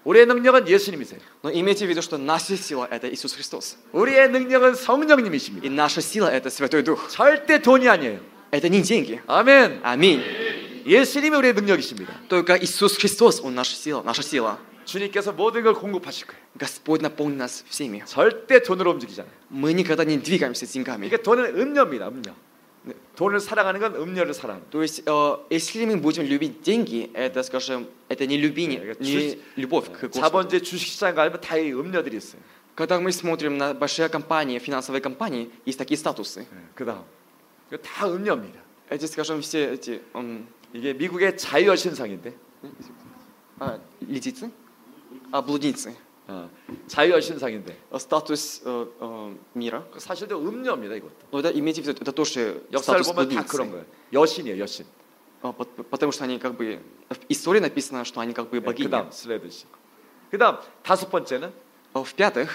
우리의 능력은 예수님이세요. Но имейте в виду, что наша сила – это Иисус Христос. 우리의 능력은 성령님이십니다. И наша сила – это Святой Дух. 절대 돈이 아니에요. Это не деньги. 아멘. Аминь. 예수님이 우리의 능력이십니다. Только Иисус Христос, Он наша сила, наша сила. 주님께서 모든 걸 공급하실 거예요. Господь наполнит нас всеми. 절대 돈으로 움직이잖아요. Мы никогда не двигаемся деньгами. 그러니까 돈은 음료입니다. 음료. 돈을 사랑하는 건 음료를 사랑하는. То есть, если мы будем любить деньги, это, скажем, это не любовь к Господу. 자본주의 주식시장 가면 다 이 음료들이 있어요. Когда мы смотрим на большие компании, финансовые компании, есть такие статусы. 그다음 이거 다 음료입니다. Эти, скажем, все эти 이게 미국의 자유의 신상인데. ледицы, блудницы. 자유의 신상인데. Статус мира. 사실도 음료입니다, 이것도. Но это имейте в виду, это тоже 역사를 статус 보면 다 그런 блудницы. 거예요. 여신이에요, 여신. Потому что они как бы в истории написано, что они как бы богини. 그다음 슬레드시. 그다음 다섯 번째는 В-пятых,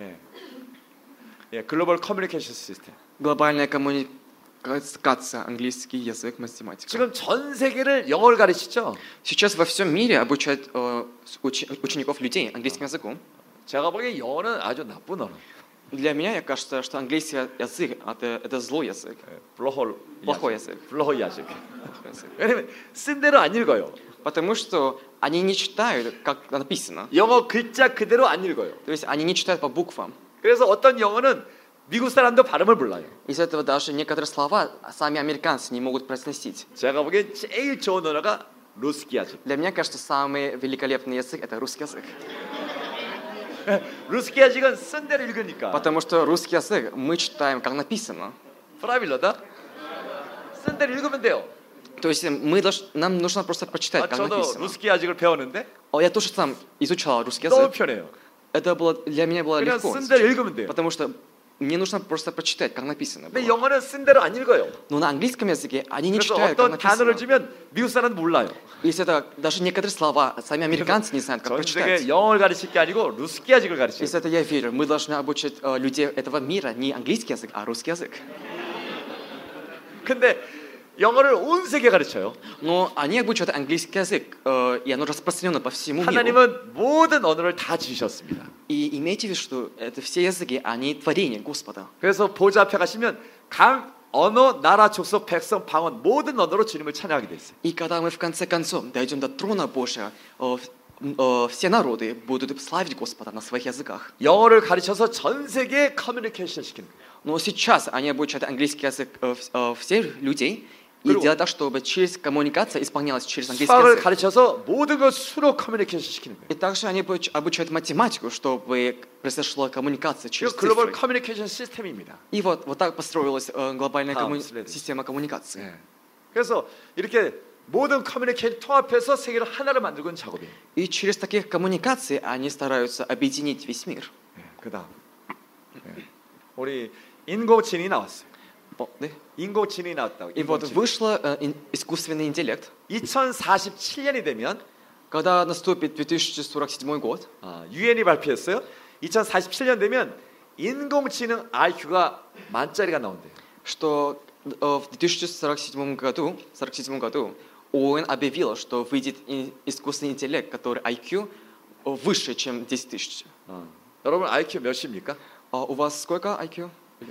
글로벌 커뮤니케이션 시스템. глобальная коммуникация, английский язык, математика. 지금 전 세계를 영어를 가르치죠. Сейчас во всем мире обучают учеников людей английским языком. 제가 보기엔 영어는 아주 나쁜 언어. Для меня, мне кажется, что английский язык это злой язык, плохой язык. 플로호 야직. 왜냐면 쓴 대로 안 읽어요. Потому что они не читают, как написано. 영어 글자 그대로 안 읽어요. То есть они не читают по буквам. 그래서 어떤 영어는 미국 사람도 발음을 몰라요. Из этого даже некоторые слова сами американцы не могут произносить. 제가 보기엔 제일 좋은 언어가 루스키 야직. Для меня, кажется, самый великолепный язык это русский язык. 루스키 야직은 쓴 대로 읽으니까. Потому что русский язык мы читаем, как написано. 프라빌러다. 쓴 대로 읽으면 돼요. То есть нам нужно просто прочитать, как 저도 написано. 루스키 야직을 배웠는데 Я тоже сам изучал русский 너무 язык. 편해요. Это было для меня было 그냥 легко. 쓴 대로 읽으면 돼요. Потому что мне нужно просто прочитать, как написано. 근데 было. 영어는 쓴 대로 안 읽어요. Но на английском языке они не 그래서 читают, как 어떤 단어를 написано. 주면 미국 사람은 몰라요. Если это даже некоторые слова сами американцы не знают, как 전 прочитать. 세계 영어를 가르칠 게 아니고 루스키 야직을 가르쳐요. Если это я верю, мы должны обучать людей этого мира не английский язык, а русский язык. 근데 영어를 온 세계 가르쳐요. Но они обучают английский язык, и оно распространено по всему миру. 하나님은 모든 언어를 다 지으셨습니다. И имейте в виду, что это все языки, они творения Господа. 그래서 보좌 앞에 가시면 각 언어, 나라, 족속, 백성, 방언 모든 언어로 주님을 찬양하게 돼 있어요. И когда мы в конце концов дойдем до трона Божия, все народы будут славить Господа на своих языках. 영어를 가르쳐서 전 세계에 커뮤니케이션 시키는 거예요. Но сейчас они обучают английский язык всех людей и делают так, чтобы через коммуникация исполнялась через английский 수학을 язык. 가르쳐서 모든 걸 수로 커뮤니케이션 시키는 거예요. И также они обучают математику, чтобы произошла коммуникация через 이거 글로벌 цифры. 커뮤니케이션 시스템입니다. И вот так построилась глобальная следует. система коммуникации. 네. 그래서 이렇게 모든 커뮤니케이션 통합해서 세계를 하나로 만들고 있는 작업이에요. И через таких коммуникаций они стараются объединить весь мир. 네, 그다음 우리 인공지능이 나왔어요. 네? 인공지능이 나왔다고. И вот 인공지능. вышло искусственный интеллект. 2047년이 되면 Когда наступит 2047 год, 유엔이 발표했어요. 2047년 되면 인공지능 IQ가 만짜리가 나온대요. что в 2047 году ООН объявила, что выйдет искусственный интеллект, который IQ выше, чем 10 тысяч. 여러분 IQ 몇입니까? У вас сколько IQ?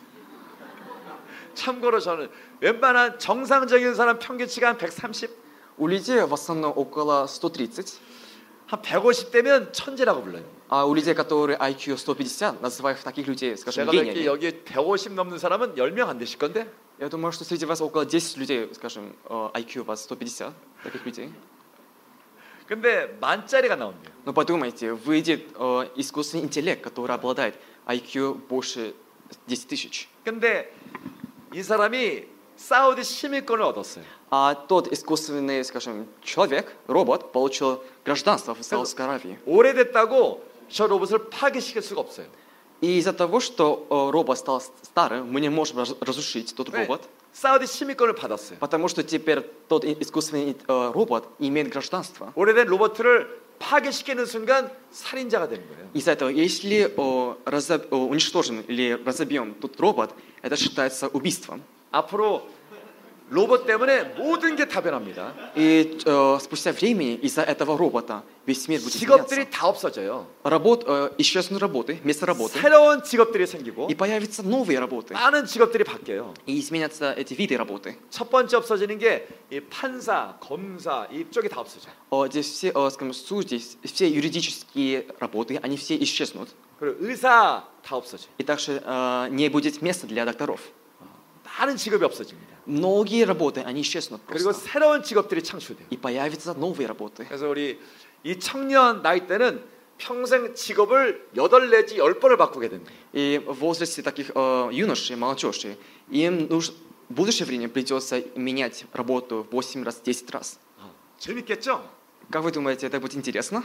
참고로 저는 웬만한 정상적인 사람 평균치가 한 130? У людей в основном около 130, 한 150 되면 천재라고 불러요. а у людей, которые IQ 150, называют таких людей, скажем, 제가 볼 때 гениями. 여기 150 넘는 사람은 10명 안 되실 건데 Я думаю, что среди вас около 10 людей, скажем, IQ у вас 150, таких людей. 근데 만짜리가 나온대요. Но подумайте, выйдет искусственный интеллект, который обладает IQ больше 10 тысяч. 근데 이 사람이 사우디 시민권을 얻었어요. А тот искусственный, скажем, человек, робот, получил гражданство в Саудовской Аравии. 오래됐다고 저 로봇을 파괴시킬 수가 없어요. И из-за того, что робот стал старым, мы не можем разрушить тот 왜? робот, 사우디 시민권을 받았어요. потому что теперь тот искусственный робот имеет гражданство. 오래된 로봇을 파괴시키는 순간 살인자가 되는 거예요. Из-за этого, если уничтожим или разобьем тот робот, это считается убийством. 앞으로 로봇 때문에 모든 게 다 변합니다. И спустя времени из-за этого робота весь мир будет 직업들이 меняться. 다 없어져요. Исчезнут работы, место работы. 새로운 직업들이 생기고 И появятся новые работы. 많은 직업들이 바뀌어요. И изменятся эти виды работы. 첫 번째 없어지는 게 이 판사, 검사 이쪽이 다 없어져요. Здесь все, скажем, судьи, все юридические работы, они все исчезнут. 그리고 의사 다 없어져요. И также не будет места для докторов. 많은 직업이 없어집니다. Многие работы, они исчезнут 그리고 просто. 새로운 직업들이 창출돼요. И появятся новые работы. 그래서 우리 이 청년 나이 때는 평생 직업을 8 내지 10번을 바꾸게 됩니다. И в возрасте таких юношей, молодежи, им в будущее время придется менять работу 8 раз, 10 раз. 재밌겠죠? Как вы думаете, это будет интересно?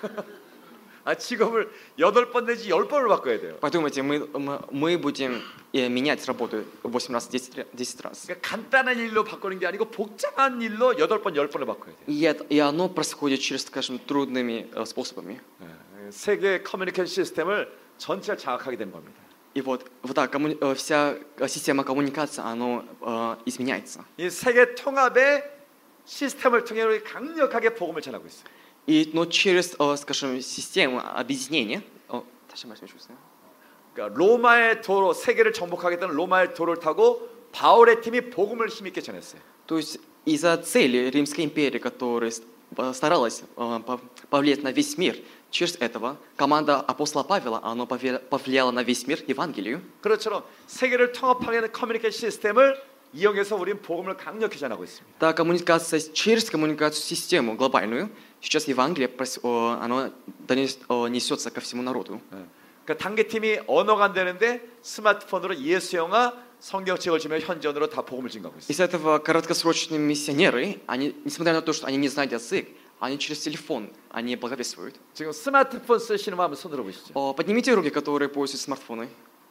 직업을 8번 내지 10번을 바꿔야 돼요. Подумайте, мы будем менять работу 8 раз, 10 раз. 그러니까 간단한 일로 바꾸는 게 아니고 복잡한 일로 8번, 10번을 바꿔야 돼요. И оно происходит через, скажем, трудными способами. 세계 커뮤니케이션 시스템을 전체를 장악하게 된 겁니다. И вот так, вся система коммуникации, она изменяется. 이 세계 통합의 시스템을 통해 우리 강력하게 복음을 전하고 있어요. Но через, скажем, систему объединения, 다시 말씀해 주세요. 그러니까 로마의 도로, 세계를 정복하겠다는 로마의 도로를 타고 바울의 팀이 복음을 힘있게 전했어요. То есть из-за цели Римской империи, которая старалась повлиять на весь мир, через этого команда апостола Павла, она повлияла на весь мир Евангелию. 그렇처럼 세계를 통합하는 커뮤니케이션 시스템을 이용해서 우리는 복음을 강력히 전하고 있습니다. Та коммуникация, через коммуникацию систему глобальную, сейчас Евангелие, оно несется ко всему народу. 그러니까 단계팀이 언어가 안 되는데 스마트폰으로 예수 영화 성경책을 주며 현존으로 다 복음을 증거하고 있어요. Из этого краткосрочные миссионеры, они, несмотря на то, что они не знают язык, они через телефон, они благовествуют. 지금 스마트폰 쓰시는 분 한번 손 들어보시죠. Поднимите руки, которые пользуются смартфоны.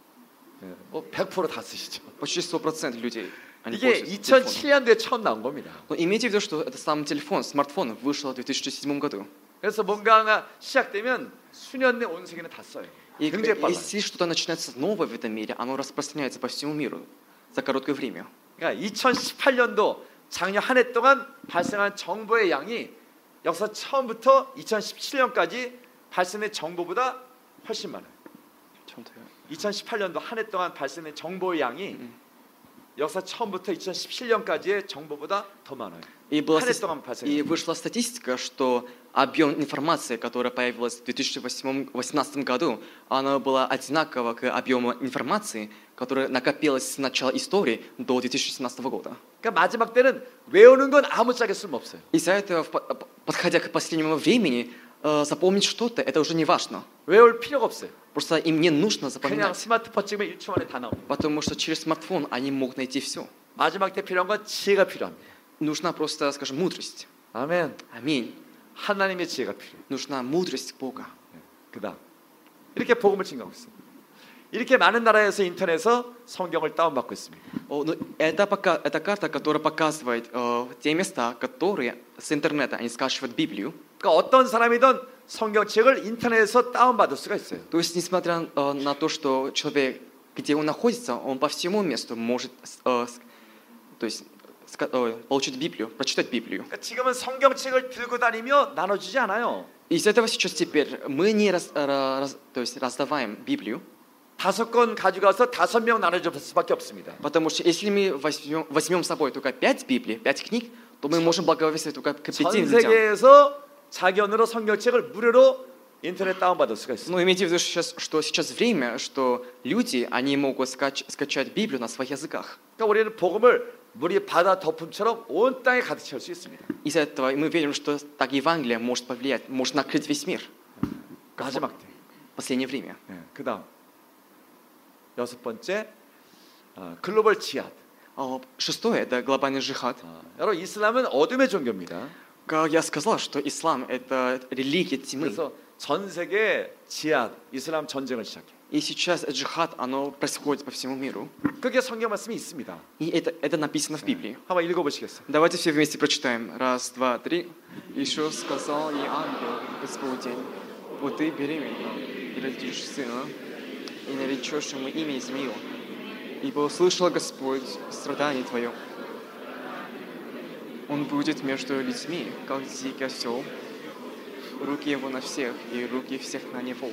100%다 쓰시죠. Почти 100% людей. Они 이게 пользуются телефоном. 2007년도에 처음 나온 겁니다. Но имейте в виду, что это сам телефон, смартфон вышел в 2007 году. 그래서 뭔가 시작되면 수년 내 온 세계는 다 써요. И 굉장히 빨라요. если что-то начинается новое в этом мире, оно распространяется по всему миру за короткое время. 그러니까 2018년도 작년 한 해 동안 발생한 정보의 양이 역사 처음부터 2017년까지 발생된 정보보다 훨씬 많아요. 2018년도 한 해 동안 발생된 정보의 양이 역사 처음부터 2017년까지의 정보보다 더 많아요. И 발생해요. вышла статистика, что объем информации, которая появилась в 2018 году, она была одинакова к объему информации, которая накопилась с начала истории до 2017 года. 그러니까 마지막 때는 외우는 건 아무짝에 쓸모없어요. Из-за этого, подходя к последнему времени, запомнить что-то, это уже не важно. 외울 필요가 없어요. Просто им не нужно 그냥 запоминать. 스마트폰 찍으면 1초 만에 다 나옵니다. Потому что через смартфон они могут найти все. 마지막 때 필요한 건 지혜가 필요합니다. Нужна просто, скажем, мудрость. 아멘. Аминь. 하나님의 지혜가 필요해요. Нужна мудрость Бога. 그다음 이렇게 복음을 증거하고 있어요. 이렇게 많은 나라에서 인터넷에서 성경을 다운받고 있습니다. Это карта, которая показывает те места, которые с интернета они скачивают Библию. 그러니까 어떤 사람이든 성경책을 인터넷에서 다운받을 수가 있어요. То есть, несмотря на то, что человек, где он находится, он по всему месту может то есть, получить Библию, прочитать Библию. 그러니까 지금은 성경책을 들고 다니며 나눠주지 않아요. Из этого сейчас теперь мы не то есть, раздаваем Библию. 5권 가져가서 5명 나눠줄 수밖에 없습니다. Потому что если мы возьмем с собой только 5 Библий, 5 книг, то мы можем благовествовать только к 5 전 людям. 세계에서 자기 언어로 성경책을 무료로 인터넷 다운받을 수가 있어요. Но имейте в виду, что сейчас время, что люди, они могут скачать Библию на своих языках. 그러니까 우리는 복음을 물이 바다 덮음처럼 온 땅에 가득 채울 수 있습니다. Из-за этого мы верим, что так Евангелие может повлиять, может накрыть весь мир 마지막 때. в последнее время. 그다음 6번째 글로벌 지하드. Шестое – это глобальный джихад. 여러분 이슬람은 어둠의 종교입니다. Как я сказал, что ислам – это религия тьмы. 그래서 전 세계 지하드, 이슬람 전쟁을 시작해. И сейчас джихад, оно происходит по всему миру. 그게 성경 말씀이 있습니다. И это написано в Библии. 한번 읽어보시겠어요? Давайте все вместе прочитаем. 1, 2, 3. Иисус сказал ей ангел Господень: вот ты беременна и родишь сына, и наречешь ему имя Измаил, ибо услышал Господь страдание твое. Он будет между людьми, как дикий осел. Руки его на всех, и руки всех на него.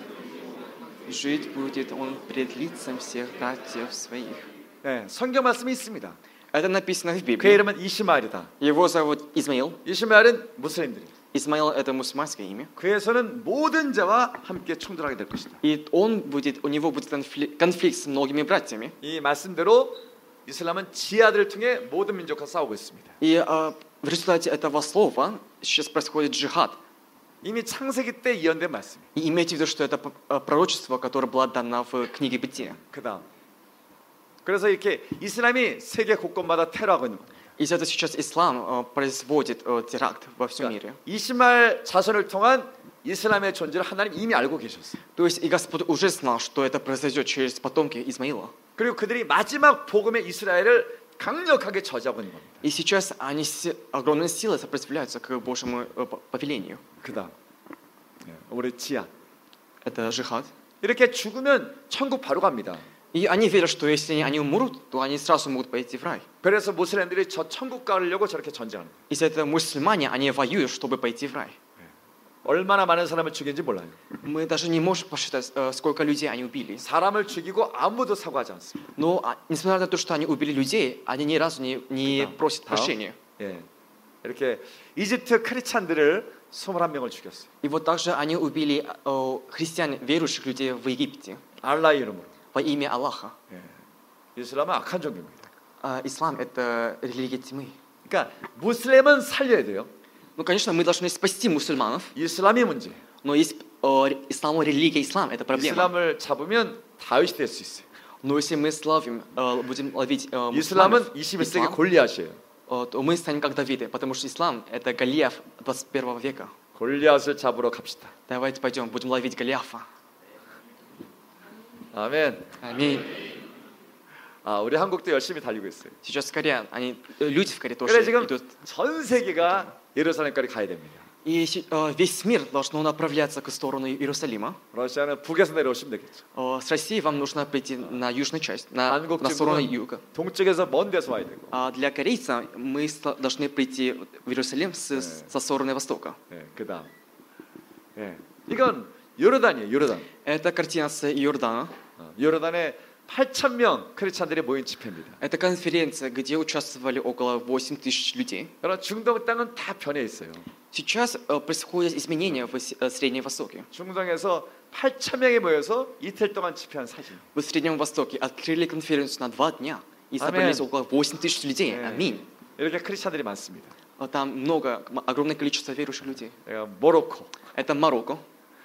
Жить будет он пред лицем всех братьев своих. 네, 성경 말씀이 있습니다. Это написано в 그 Библии. 이름은 이시마엘이다. Его зовут Измаил. 이시마엘은 무슬림들이. Измаил — это мусульманское имя. 그에서는 모든 자와 함께 충돌하게 될 것이다. И у него будет конфликт с многими братьями. 이 말씀대로 이슬람은 지하들을 통해 모든 민족과 싸우고 있습니다. И в результате этого слова сейчас происходит джихад. 이미 창세기 때 예언된 말씀. И имейте в виду, что это пророчество, которое было дано в книге Бытия. 그다음. 그래서 이렇게 이슬람이 세계 곳곳마다 테러하고 있는 겁니다. И это сейчас ислам производит теракт во всем мире. 이스마엘 자손을 통한 이슬람의 존재를 하나님 이미 알고 계셨어요. То есть и Господь уже знал, что это произойдет через потомки Измаила. 그리고 그들이 마지막 복음의 이스라엘을 강력하게 저지하고 있는 겁니다. И сейчас они огромной силой сопротивляются к Божьему повелению. 그다음. 우리 지하. Это джихад. 이렇게 죽으면 천국 바로 갑니다. И они верят, что если они умрут, то они сразу могут пойти в рай. 그래서 모슬렘들이 저 천국 가려고 저렇게 전쟁하는 거예요. Из-за этого мусульмане, они воюют, чтобы пойти в рай. 얼마나 많은 사람을 죽인지 몰라요. Мы даже не можем посчитать, сколько людей они убили. 사람을 죽이고 아무도 사과하지 않습니다. Но, несмотря на то, что они убили людей, они ни разу не просят прощения. 예. 이렇게 이집트 크리스찬들을 21명을 죽였어요. И вот также они убили христиан, верующих людей в Египте 알라의 이름으로. во имя Аллаха. 예. 이슬람은 악한 종교입니다. Ислам — это религия тьмы. 그러니까 무슬림은 살려야 돼요. Ну, конечно, мы должны спасти мусульманов, 이슬람이 문제. но есть ислам, религия ислам — это проблема. 이슬람을 잡으면 다윗이 될 수 있어요. Но если мы будем ловить 이슬람은 мусульманов, 21세기 골리앗이에요. то мы станем как Давиды, потому что ислам — это Голиаф 21 века. 골리앗을 잡으러 갑시다. Давайте пойдем, будем ловить Голиафа. 아멘. Аминь. 우리 한국도 열심히 달리고 있어요. Сейчас Корея, люди в Корее тоже 그래 지금 идут. 전 세계가 예루살렘까지 가야 됩니다. И весь мир должен направляться к сторону Иерусалима. 러시아는 북에서 내려오시면 되겠죠. С России вам нужно прийти на южную часть, на сторону юга. 동쪽에서 먼 데서 와야 되고. А для корейца мы должны прийти в Иерусалим со стороны востока. 네, 그다음. 네, 이건 요르단이에요. 요르단. Это картина с Иордана. 요르단에 8,000명 크리스찬들이 모인 집회입니다. Это конференция, где участвовали около 8 тысяч людей. 그러나 중동 땅은 다 변해 있어요. Сейчас происходят изменения в Среднем Востоке. 중동에서 8,000명이 모여서 이틀 동안 집회한 사진. В Среднем Востоке открыли конференцию на 2 дня и собрались около 8 тысяч людей. Аминь. 이렇게 크리스찬들이 많습니다. Там огромное количество верующих людей. 모로코. Это Марокко.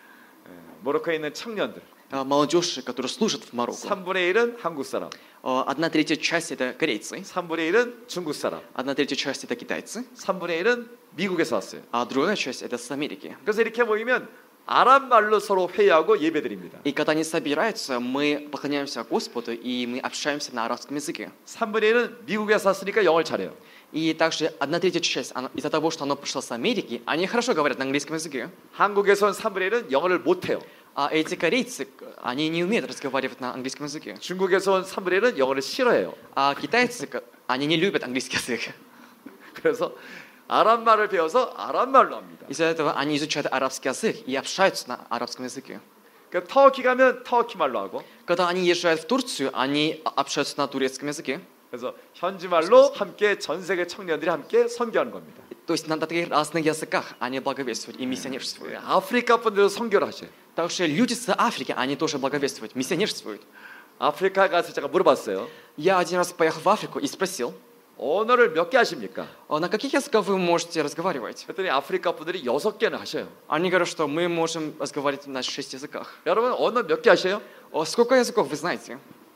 모로코에 있는 청년들. Молодежь, которые служат в Марокко. 3분의 1은 한국 사람. 1/3 часть это корейцы. 3분의 1은 중국 사람. 1/3 часть это китайцы. 3분의 1은 미국에서 왔어요. А другая часть это с Америки. 그래서 이렇게 모이면 아랍 말로 서로 회의하고 예배드립니다. И когда они собираются, мы поклоняемся Господу и мы общаемся на арабском языке. 3분의 1은 미국에서 왔으니까 영어를 잘해요. И также 1/3 часть, из-за того, что оно пришло с Америки, они хорошо говорят на английском языке. 한국에서 온 3분의 1은 영어를 못해요. А эти корейцы, они не умеют разговаривать на английском языке. 중국에서 온 3분의 1은 영어를 싫어해요. А китайцы, они не любят английский язык. 그래서 아랍 말을 배워서 아랍 말로 합니다. Из-за этого они изучают арабский язык и общаются на арабском языке. 그러니까 터키 가면 터키 말로 하고. Когда они езжают в Турцию, они общаются на турецком языке. 그래서 현지 말로 함께 전 세계 청년들이 함께 선교하는 겁니다. То есть на таких разных языках они благовествуют и миссионерствуют. 아프리카 분들도 선교를 하셔요. Также люди с Африки, они тоже благовествуют, миссионерствуют. 아프리카 가서 제가 물어봤어요. Я один раз поехал в Африку и спросил, 언어를 몇 개 하십니까? на каких языках вы можете разговаривать? 그랬더니 아프리카 분들이 6개나 하셔요. Они говорят, что мы можем разговаривать на 6 языках. 여러분 언어 몇 개 하셔요? Сколько языков вы знаете?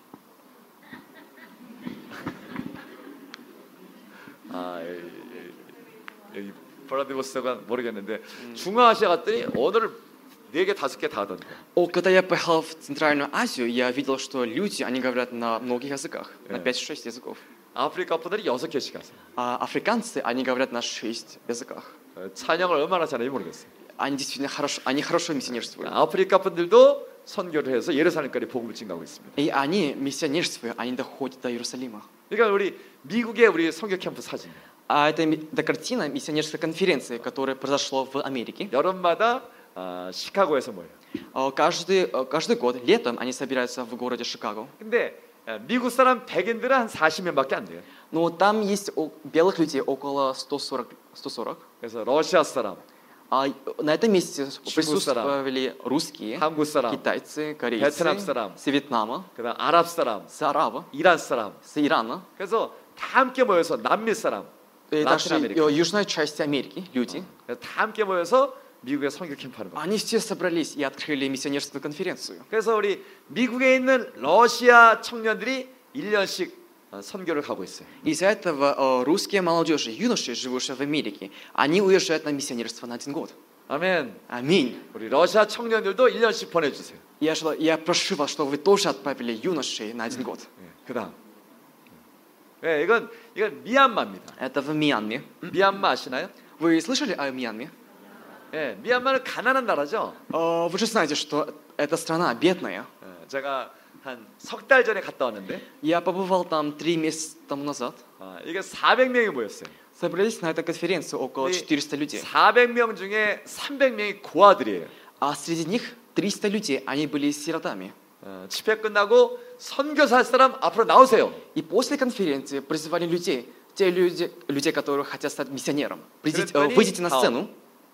여기 브라디보스가 모르겠는데 중앙아시아 갔더니 언어를 4개, 5개 다 하던데. Когда я поехал в Центральную Азию, я видел, что люди, они говорят на многих языках, на 5-6 языков. 아프리카 분들이 6개씩 하세요. А африканцы, они говорят на 6 языках. 찬양을 얼마나 잘하는지 모르겠어요. Они действительно хорошо миссионерствуют. 아프리카 분들도 선교를 해서 예루살렘까지 복음을 증가하고 있습니다. И они миссионерствуют, они доходят до Иерусалима. 그러니까 우리 미국의 우리 선교 캠프 사진. А это картина миссионерской конференции, которая произошла в Америке. 여름마다 시카고에서 모여요. Каждый год, летом, они собираются в городе Чикаго. 근데 미국 사람 백인들은 한 40명밖에 안 돼요. Но там есть белых людей около 140. 그래서 러시아 사람, А на этом месте 중국 присутствовали русские, 한국 사람, китайцы, 베트남 корейцы, 사람, с Вьетнама, 그다음 아랍 사람, с Араба, 이란 사람. с Ирана. 그래서 다 함께 모여서 남미 사람, И 라틴 даже 아메리카. южной части Америки люди. 그래서 다 함께 모여서 미국에 선교 캠프하는 거예요. Они все собрались и открыли миссионерскую конференцию. 그래서 우리 미국에 있는 러시아 청년들이 1년씩 선교를 가고 있어요. Из-за этого русские молодежи, юноши, живущие в Америке, они уезжают на миссионерство на 1 год. 아멘. Аминь. 우리 러시아 청년들도 1년씩 보내주세요. Я прошу вас, чтобы вы тоже отправили юношей на 1 год. 그다음. 네, 이건 미얀마입니다. Это в Мьянме. 미얀마 아시나요? Вы слышали о Мьянме? 네, 미얀마는 가난한 나라죠. Вы же знаете, что эта страна бедная. 제가 한 석 달 전에 갔다 왔는데 Я побывал там 3 месяца тому назад. 이게 400명이 모였어요. Собрались на этой конференции около 이 400 людей. 400명 중에 300명이 고아들이에요. А среди них 300 людей, они были сиротами. 집회 끝나고 선교사 할 사람 앞으로 나오세요. И после конференции призывали людей, те людей, которые хотят стать миссионером, выйдите на сцену.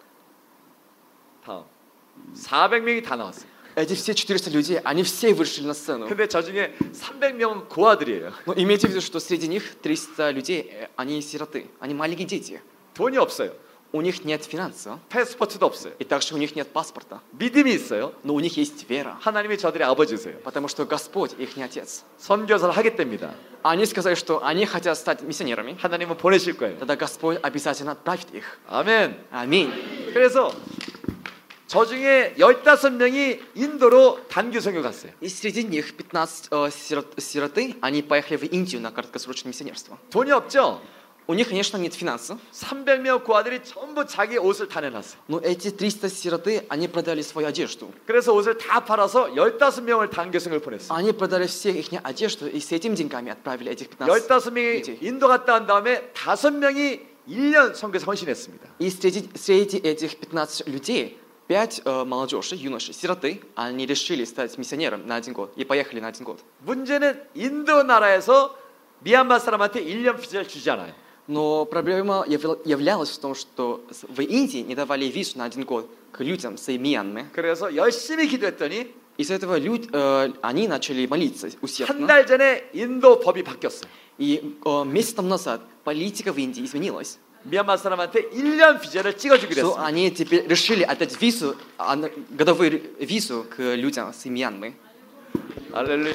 다음. 400명이 다 나왔어요. Эти все 400 людей, они все вышли на сцену. 근데 저 중에 300명은 고아들이에요. Но имейте в виду, что среди них 300 людей, они сироты, они маленькие дети. 돈이 없어요. У них нет финансов, 패스포트도 없어요. и также у них нет паспорта. 믿음이 있어요. Но у них есть вера, 하나님이 저들의 아버지세요. потому что Господь их отец. 선교사를 하겠답니다. Они сказали, что они хотят стать миссионерами. 하나님은 보내실 거예요. Тогда Господь обязательно отправит их. 아멘. Аминь. 그래서 저 중에 15명이 인도로 단기 선교 갔어요. И среди них 15 сироты, они поехали в Индию на краткосрочное миссионерство. 돈이 없죠? У них, конечно, нет финансов, 300명 고아들이 전부 자기 옷을 다 내놨어요. но эти 300 сироты, они продали свою одежду. 그래서 옷을 다 팔아서 15명을 단기 선교를 보냈어요. Они продали все их одежду и с этими деньгами отправили этих 15 15명이 людей. 인도 갔다 온 다음에 5명이 1년 선교사 헌신했습니다. И среди этих 15 людей 5 молодежи, юноши, сироты, они решили стать миссионером на 1 год и поехали на 1 год. 문제는 인도 на라에서 미얀마 사람한테 1년 비자를 주지 않아요. Но проблема являлась в том, что в Индии не давали визу на 1 год к людям с Мьянмы. 그래서 열심히 기도했더니 Из-за этого они начали молиться 한 усердно. 달 전에 인도 법이 바뀌었어요. И месяц тому назад политика в Индии изменилась. 미얀마 사람한테 1년 비자를 찍어주기로 Что 했어요. они теперь решили отдать визу, годовую визу к людям с Мьянмы. 할렐루야.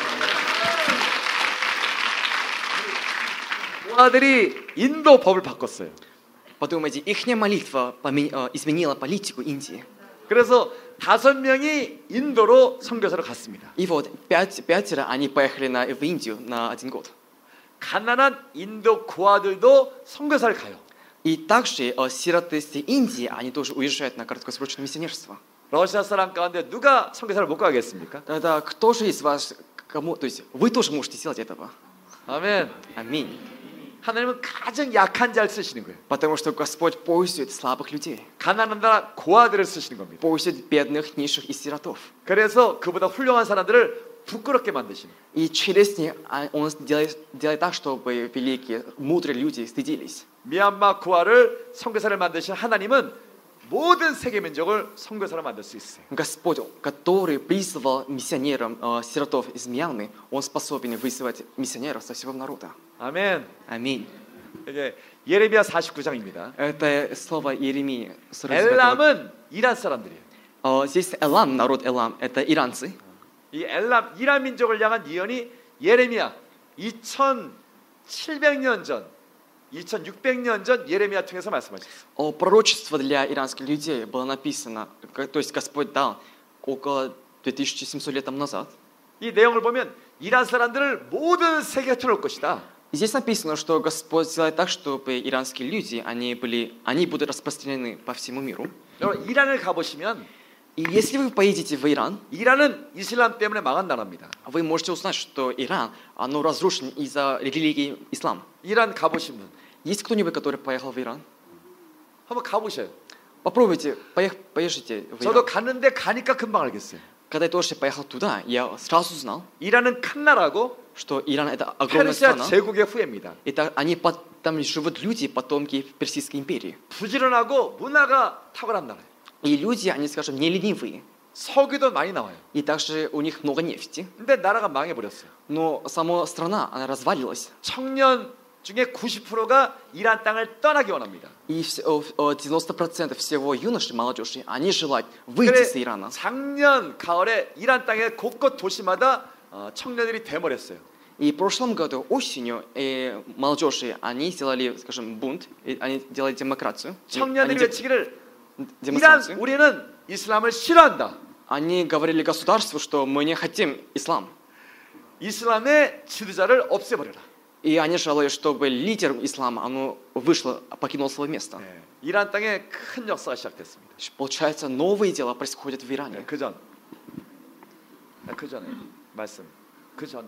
고아들이 인도 법을 바꿨어요. Подумайте, их молитва изменила политику Индии. 그래서 5명이 인도로 선교사로 갔습니다. И вот пятеро они поехали в Индию на 1 год. 가난한 인도 고아들도 선교사를 가요. И также сироты с Индии, они тоже уезжают на краткосрочное миссионерство. 러시아 사람 가운데 누가 선교사를 못 가겠습니까? Тогда кто же из вас, то есть вы тоже можете сделать этого? 아멘. Аминь. 하나님은 가장 약한 자를 쓰시는 거예요. Потому что Господь пользует слабых людей, 가난한 나라 고아들을 쓰시는 겁니다. пользует бедных, низших и сиротов. 그래서 그보다 훌륭한 사람들을 부끄럽게 만드시는 거예요. И через них Он делает так, чтобы великие, мудрые люди стыдились. 미얀마 고아를 선교사를 만드신 하나님은 모든 세계 민족을 선교사로 만들 수 있어요. Господь, который призвал миссионерам сиротов из Мьянмы, Он способен вызвать миссионеров со всего народа. 아멘. Аминь. 이제 예레미야 49장입니다. Это слово Иеремии. 49. 엘람은 이란 사람들이에요. Здесь Элам, народ Элам, это иранцы. 이 엘람 이란 민족을 향한 예언이 예레미야 2700년 전, 2600년 전 예레미야 통해서 말씀하셨어요. Пророчество для иранских людей было написано, то есть Господь дал около 2700 лет тому назад. 이 내용을 보면 이란 사람들을 모든 세계에 틀어올 것이다. И здесь написано, что Господь сделает так, чтобы иранские люди, они будут распространены по всему миру. 여러분 이란을 가보시면 И если вы поедете в Иран, 이란은 이슬람 때문에 망한 나라입니다. вы можете узнать, что Иран, оно разрушено из-за религии ислам. 이란 가보신 분, Есть кто-нибудь, который поехал в Иран? 한번 가보셔요. Попробуйте, поезжайте в 저도 Иран. 갔는데 가니까 금방 알겠어요. Когда я тоже поехал туда, я сразу знал, 이란은 큰 나라고 что Иран это огромная 페르시아 страна. 제국의 후예입니다. И там живут люди, потомки Персидской империи. 부지런하고 문화가 탁월한 나라예요. И люди, они, скажем, не ленивые. 석유도 많이 나와요. И также у них много нефти. 근데 나라가 망해버렸어요. Но сама страна, она развалилась. 청년 중에 90%가 이란 땅을 떠나기 원합니다. И 90% всего юношей, молодежи, они желают выйти с Ирана. 작년 가을에 이란 땅의 곳곳 도시마다 청년들이 데모했어요. И в прошлом году осенью молодежи, они сделали, скажем, бунт, они делали демократию. 청년들이 외치기를 이란 демонстрацию. 우리는 이슬람을 싫어한다. Они говорили государству, что мы не хотим ислам. 이슬람의 지도자를 없애버려라. И они желали, чтобы лидер ислама, оно вышло, покинул свое место. 이란 땅에 큰 역사가 시작됐습니다. Получается, новые дела происходят в Иране. 그 전에 말씀. 그 전.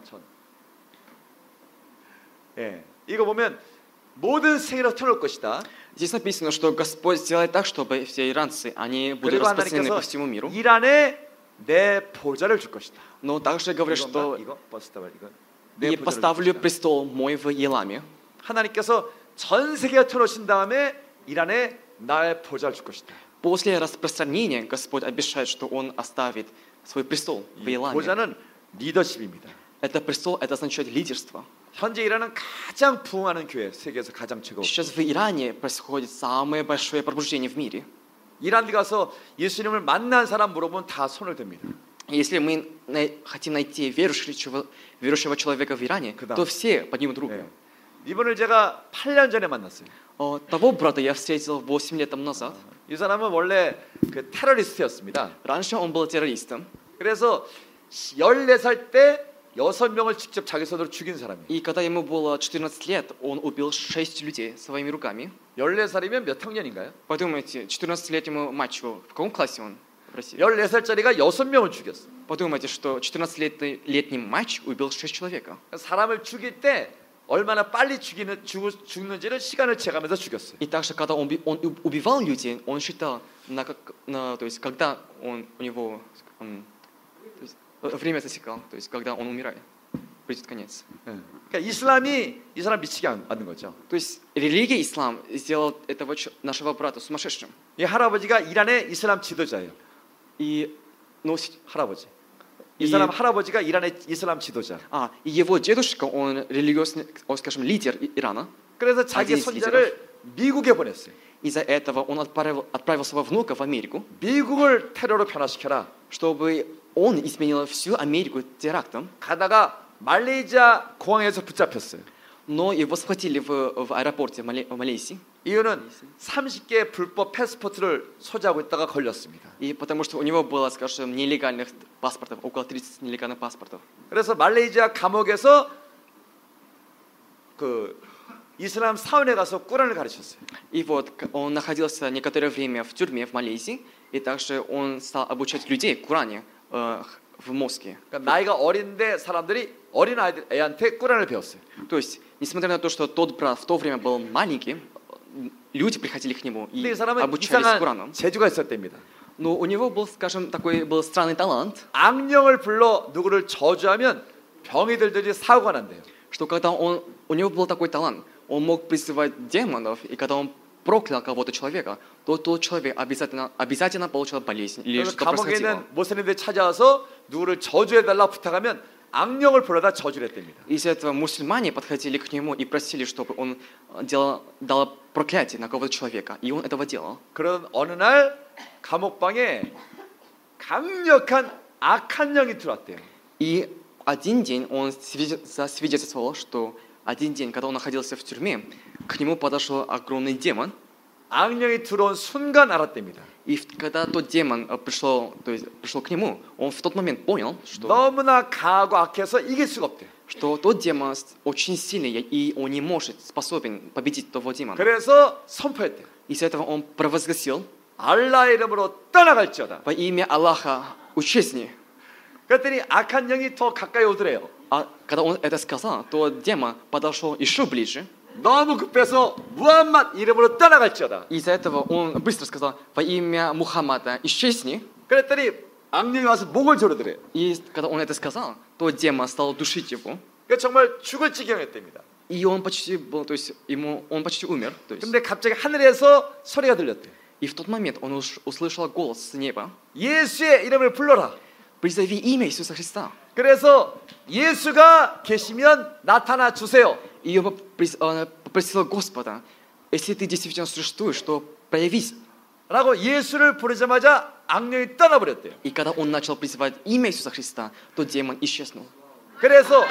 이거 보면 모든 세계로 터놓을 것이다. Здесь написано, что Господь сделает так, чтобы все иранцы, они будут 그리고 распространены по 하나님께서 всему миру. 이란에 내 보좌를 줄 것이다. Но также говорит, что 이거 «И поставлю престол мой в Еламе». 하나님께서 전 세계에 터놓으신 다음에 이란에 나의 보좌를 줄 것이다. После распространения Господь обещает, что Он оставит свой престол в Еламе. 보좌는 리더십입니다. Это престол, это означает лидерство. 현재 이란은 가장 부흥하는 교회, 세계에서 가장 최고. Сейчас в Иране происходит самое большое пробуждение в мире. 이란 가서 예수님을 만난 사람 물어보면 다 손을 듭니다. Если мы хотим найти верующего человека в Иране, то все поднимут руку. 이분을 제가 8년 전에 만났어요. Того брата я встретил 8 лет назад. 이 사람은 원래 그 테러리스트였습니다. Раньше он был террористом. 그래서 14살 때 6명을 직접 자기 손으로 죽인 사람이에요. И когда ему было 14 лет, он убил 6 людей своими руками. 14살이면 몇 학년인가요? Подумайте, 14-летнему мальчику, в каком классе он в России? 14살짜리가 6명을 죽였어. Подумайте, что 14-летний мальчик убил 6 человек. 사람을 죽일 때 얼마나 빨리 죽는지를 시간을 재가면서 죽였어요. И также, когда он убивал людей, он считал, то есть, когда у него время засекал, то есть, когда он умирает, придет конец. 그러니까 이슬람이 이 사람 미치게 만든 거죠. То есть, религия ислам сделал этого нашего брата сумасшедшим. 이 할아버지가 이란의 이슬람 지도자예요. И 할아버지. 이 사람 할아버지가 이란의 이슬람 지도자. И его дедушка, он религиозный, скажем, лидер Ирана. 그래서 자기 손자를 미국에 보냈어요. Из-за этого он отправил своего внука в Америку. 미국을 테러로 변화시켜라. Чтобы он изменил всю Америку терактом. 가다가 말레이시아 공항에서 붙잡혔어요. Но его схватили в аэропорте в Малайзии. 이유는 30개의 불법 패스포트를 소지하고 있다가 걸렸습니다. И потому что у него было, скажем, нелегальных паспортов, около 30 нелегальных паспортов. 그래서 말레이시아 감옥에서 그 이슬람 사원에 가서 꾸란을 가르쳤어요. И вот он находился некоторое время в тюрьме в Малайзии, и также он стал обучать людей Коране в мозге. 그러니까 나이가 어린데 사람들이 어린 애한테 꾸란을 배웠어요. То есть, несмотря на то, что тот брат в то время был маленький, люди приходили к нему и обучались Корану. 재주가 있었답니다. Но у него был, скажем, такой был странный талант. 악령을 불러 누구를 저주하면 병이 들든지 사고가 난대요. Что когда у него был такой талант, он мог призывать демонов, и когда он проклял кого-то человека, то тот человек обязательно получил болезнь или что-то 감옥에 происходило. 있는 모슬림들이 찾아와서 누구를 저주해달라 부탁하면 악령을 불러다 저주를 했답니다. Из этого мусульмане подходили к нему и просили, чтобы он дал проклятие на кого-то человека, и он этого делал. 그런 어느 날 감옥방에 강력한 악한 영이 들어왔대요. И один день он засвидетельствовал, что один день, когда он находился в тюрьме, к нему подошел огромный демон. 악령이 들어온 순간 알았답니다. И когда тот демон пришел к нему, он в тот момент понял, что 너무나 강하고 악해서 이길 수가 없대. что тот демон очень сильный, и он не может способен победить того демона. 그래서 선포했대. Из-за этого он провозгласил: 알라의 이름으로 떠나갈지어다. во имя Аллаха исчезни. 그랬더니 악한 영이 더 가까이 오더래요. А когда он это сказал, то демон подошел еще ближе. 너무 급해서 무함맛 이름으로 떠나갈지어다. Из-за этого он быстро сказал: во имя Мухаммада исчезни. 그랬더니 악령이 와서 목을 조르더래요. И когда он это сказал, то демон стал душить его. 그러니까 정말 죽을 지경이었답니다. И он почти был, то есть он почти умер. То есть. 근데 갑자기 하늘에서 소리가 들렸대요. И в тот момент он услышал голос с неба: 예수의 이름을 불러라. призови имя Иисуса Христа. 그래서 예수가 계시면 나타나 주세요. И он попросил Господа: если ты действительно существуешь, то проявись. 라고 예수를 부르자마자 악령이 떠나버렸대요. И когда он начал призывать имя Иисуса Христа, то демон исчезнул. 그래서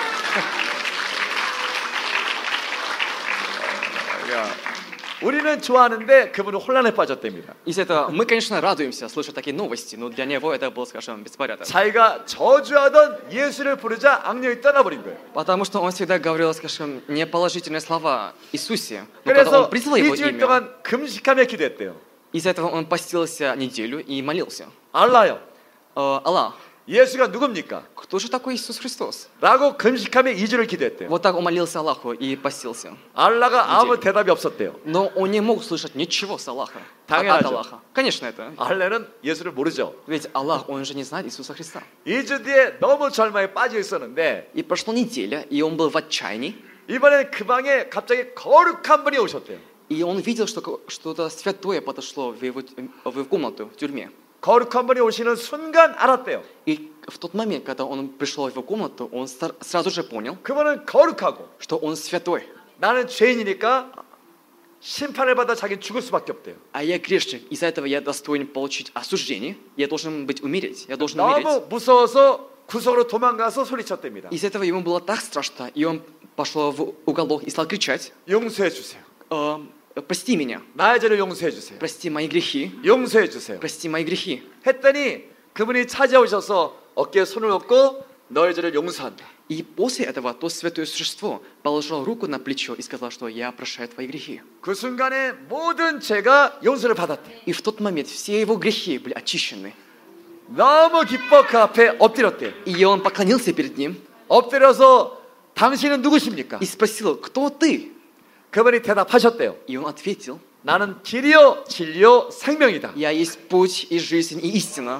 우리는 좋아하는데 그분은 혼란에 빠졌답니다. Из этого мы, конечно, радуемся, слыша такие новости, но для него это был, скажем, беспорядок. 자기가 저주하던 예수를 부르자 악령이 떠나버린 거예요. Потому что он всегда говорил, скажем, неположительные слова Иисусе. Но когда 그래서 он призвал его 2주일 имя, 동안 금식하며 기도했대요. из-за этого он постился неделю и молился. 알라요. Аллах, 예수가 누굽니까? кто же такой Иисус Христос? 라고 금식하며 2주를 기도했대요. Вот так он молился Аллаху и постился. 알라가 아무 대답이 없었대요. Но он не мог слышать ничего с Аллаха. От 당연하죠. Аллаха. Конечно, это. 알라는 예수를 모르죠. Ведь Аллах, он же не знает Иисуса Христа. 2주 뒤에 너무 절망에 빠져 있었는데 И прошла неделя, и он был в отчаянии. 이번에는 그 방에 갑자기 거룩한 분이 오셨대요. И он видел, что что-то святое подошло в его комнату, в тюрьме. 거룩한 분이 오시는 순간 알았대요. И в тот момент, когда он пришел в его комнату, он сразу же понял, 그분은 거룩하고 что он святой. 나는 죄인이니까 심판을 받아 자기 죽을 수밖에 없대요. А я грешник, из-за этого я достоин получить осуждение, я должен умереть, я должен умереть. 너무 무서워서 구석으로 도망가서 소리쳤답니다. Из-за этого ему было так страшно, и он пошел в уголок и стал кричать: 용서해 주세요. прости меня, 나의 죄를 용서해 주세요. прости мои грехи, 용서해 주세요. прости мои грехи. 했더니 그분이 찾아오셔서 어깨에 손을 얹고 너의 죄를 용서한다. И после этого то святое существо положило руку на плечо и сказал, что я прощаю твои грехи. 그 순간에 모든 죄가 용서를 받았대. И в тот момент все его грехи были очищены. 너무 기뻐 그 앞에 엎드렸대. И он поклонился перед ним 엎드려서 당신은 누구십니까? и спросил: кто ты? 그분이 대답하셨대요. И он ответил: 나는 길이요 진리요 생명이다. я есть путь и жизнь и истина.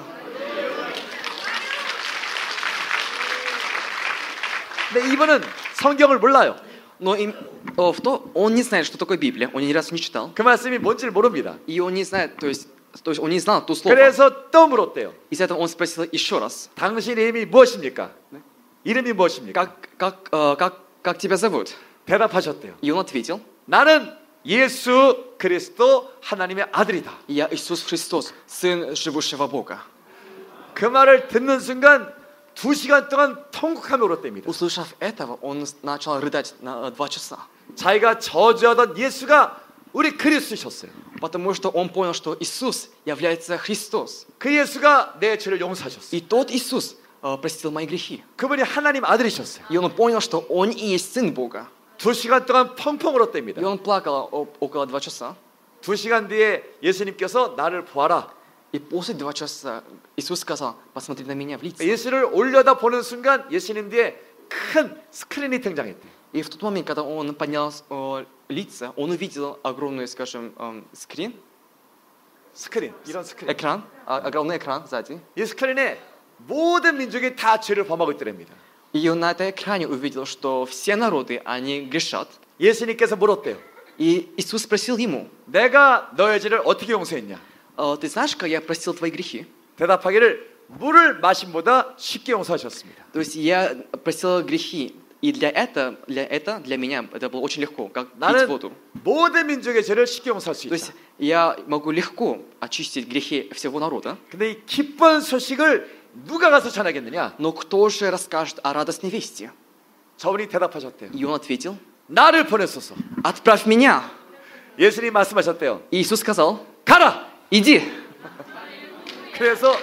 근데 이분은 성경을 몰라요. Но он не знает, что такое Библия, он ни разу не читал. 그 말씀이 뭔지를 모릅니다. И он не знает, то есть он не знал то слово. 그래서 또 물었대요. Из-за этого он спросил еще раз: 당신의 이름이 무엇입니까? 이름이 무엇입니까? как тебя зовут? 대답하셨대요. И он ответил: 나는 예수 그리스도 하나님의 아들이다. я Иисус Христос, Сын живущего Бога. 그 말을 듣는 순간 2시간 동안 통곡하며 울었답니다. Услышав этого, он начал рыдать на 2 часа. 자기가 저주하던 예수가 우리 그리스도셨어요. Потому что он понял, что Иисус является Христос. 그 예수가 내 죄를 용서하셨어요. И тот Иисус простил мои грехи. 그분이 하나님 아들이셨어요. И он понял, что он и есть Сын Бога. 2시간 동안 펑펑 울었답니다. И он плакал около 2 часа. 2시간 뒤에 예수님께서 나를 보아라. И после 2 часа Иисус сказал: посмотри на меня в лицо. 예수를 올려다 보는 순간 예수님 뒤에 큰 스크린이 등장했대요. И в тот момент, когда он поднял лица, он увидел огромный, скажем, скрин. 스크린, 이런 스크린. Экран, огромный экран сзади. 이 스크린에 모든 민족이 다 죄를 범하고 있더랍니다. И он на этом экране увидел, что все народы, они грешат. 예수님께서 물었대요. И Иисус спросил ему: 내가 너의 죄를 어떻게 용서했냐? ты знаешь, как я простил твои грехи? 대답하기를 물을 마심보다 쉽게 용서하셨습니다. То есть я простил грехи, и для меня это было очень легко, как пить 나는 воду. 모든 민족의 죄를 쉽게 용서할 수 То 있다. есть я могу легко очистить грехи всего народа. 근데 이 기쁜 소식을 누가 가서 전하겠느냐? Но кто же расскажет о радостной вести? 저분이 대답하셨대요. И он ответил: 나를 보냈소서. отправь меня. 예수님이 말씀하셨대요. И Иисус сказал: 가라. иди. 그래서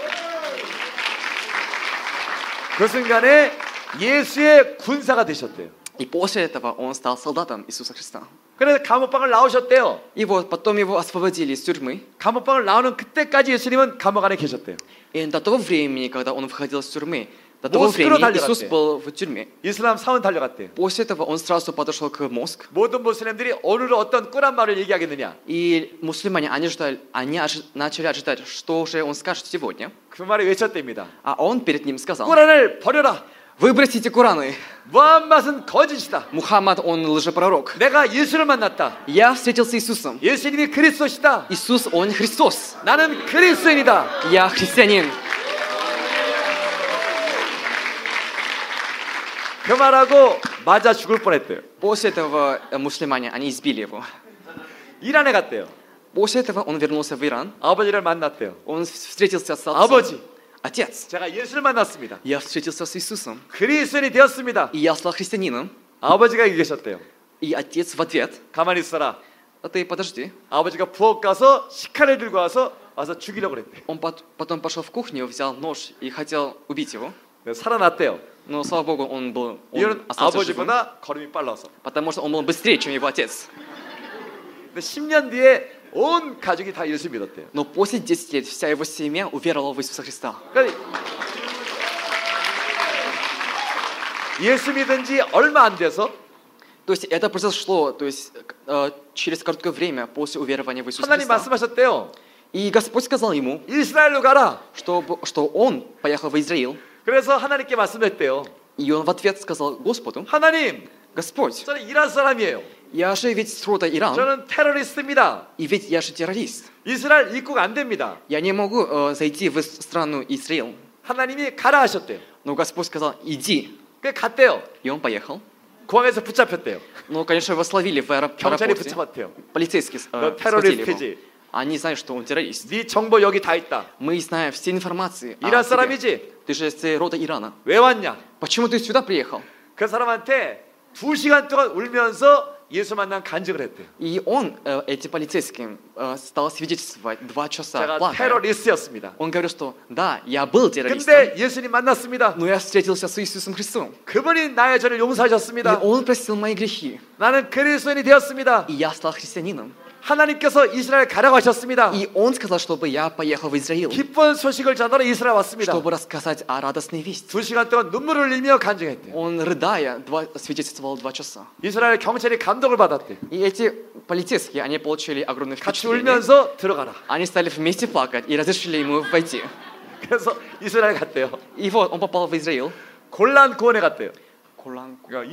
그 순간에 예수의 군사가 되셨대요. И после этого он стал солдатом Иисуса Христа. 그래서 감옥방을 나오셨대요. И вот потом его освободили из тюрьмы. 감옥방을 나오는 그때까지 예수님은 감옥 안에 계셨대요. И до того времени, когда он выходил из тюрьмы, До того 모스크로 времени Иисус 달려갔대. был в тюрьме. 이슬람 사원 달려갔대요. После этого он сразу подошел к Моск. 모든 모슬렘들이 오늘은 어떤 꿀한 말을 얘기하겠느냐? И мусульмане, начали ожидать, что же он скажет сегодня. 그 말을 외쳤답니다. А он перед ним сказал: 꾸란을 버려라. выбросите Кораны. 무함mad은 거짓이다. Мухаммад, он лжепророк. 내가 예수를 만났다. Я встретился с Иисусом. 예수님이 그리스도시다. Иисус, он Христос. 나는 그리스도인이다. Я христианин. 그 말하고 맞아 죽을 뻔했대요. После этого мусульмане, они избили его. 이란에 갔대요. После этого он вернулся в Иран. 아버지를 만났대요. Он встретился с 아버지, отцом. Отец, 제가 예수를 만났습니다. я встретился с Иисусом. 그리스도인이 되었습니다. И я стал христианином. 아버지가 얘기 계셨대요. И отец в ответ: 가만히 있어라. а ты подожди. 아버지가 부엌 가서 식칼을 들고 와서 죽이려고 그랬대. Он потом пошел в кухню, взял нож и хотел убить его. 살아났대요. Но, слава Богу, он 이거는 остался живым. 아버지보다 걸음이 빨라서. Потому что он был быстрее, чем его отец. 근데 10년 뒤에 온 가족이 다 예수 믿었대요. Но после 10 лет вся его семья уверовала в Иисуса Христа. 그러니까 예수 믿은 지 얼마 안 돼서 То есть это произошло, то есть, через короткое время после уверования в Иисуса 하나님 Христа. 말씀하셨대요. И Господь сказал ему, 이스라엘로 가라. что он поехал в Израиль. 그래서 하나님께 말씀했대요. И он в ответ сказал Господу: 하나님, Господь, 저는 이란 사람이에요. я же ведь с рода Иран, 저는 테러리스트입니다. и ведь я же террорист. 이스라엘 입국 안 됩니다. Я не могу зайти в страну Израиль. 하나님이 가라 하셨대요. Но Господь сказал: иди. 그 갔대요. И он поехал. 공항에서 붙잡혔대요. Но, конечно, его словили в 경찰이 аэропорте. 붙잡았대요. Полицейские 너 схватили его. 테러리스트지. Они знают, что он террорист. 네 정보 여기 다 있다. Мы знаем все информации о 이란 тебе. 사람이지? Ты же с рода Ирана. 왜 왔냐? Почему ты сюда приехал? 그 사람한테 2시간 동안 울면서 예수 만난 간증을 했대요. И он, эти полицейские, стал свидетельствовать 2 часа 제가 плакая. 테러리스트였습니다. Он говорит, что да, я был террористом, 근데 예수님 만났습니다. но я встретился с Иисусом Христом. 그분이 나의 죄를 И 용서하셨습니다. он простил мои грехи. 나는 그리스도인이 되었습니다. И я стал христианином. 하나님께서 이스라엘 가라고 하셨습니다. И он сказал, чтобы я поехал в Израиль, 기쁜 소식을 전하러 이스라엘 왔습니다. чтобы рассказать о радостной вести. 2시간 동안 눈물을 흘리며 간증했대요. Он, рыдая, свидетельствовал 2 часа. 이스라엘 경찰이 감동을 받았대요. И эти полицейские, они получили огромное 같이 впечатление. 울면서 들어가라. Они стали вместе плакать и разрешили ему войти. 그래서 이스라엘 갔대요. И вот он попал в Израиль. 골란 고원에 갔대요. Кулан. 그러니까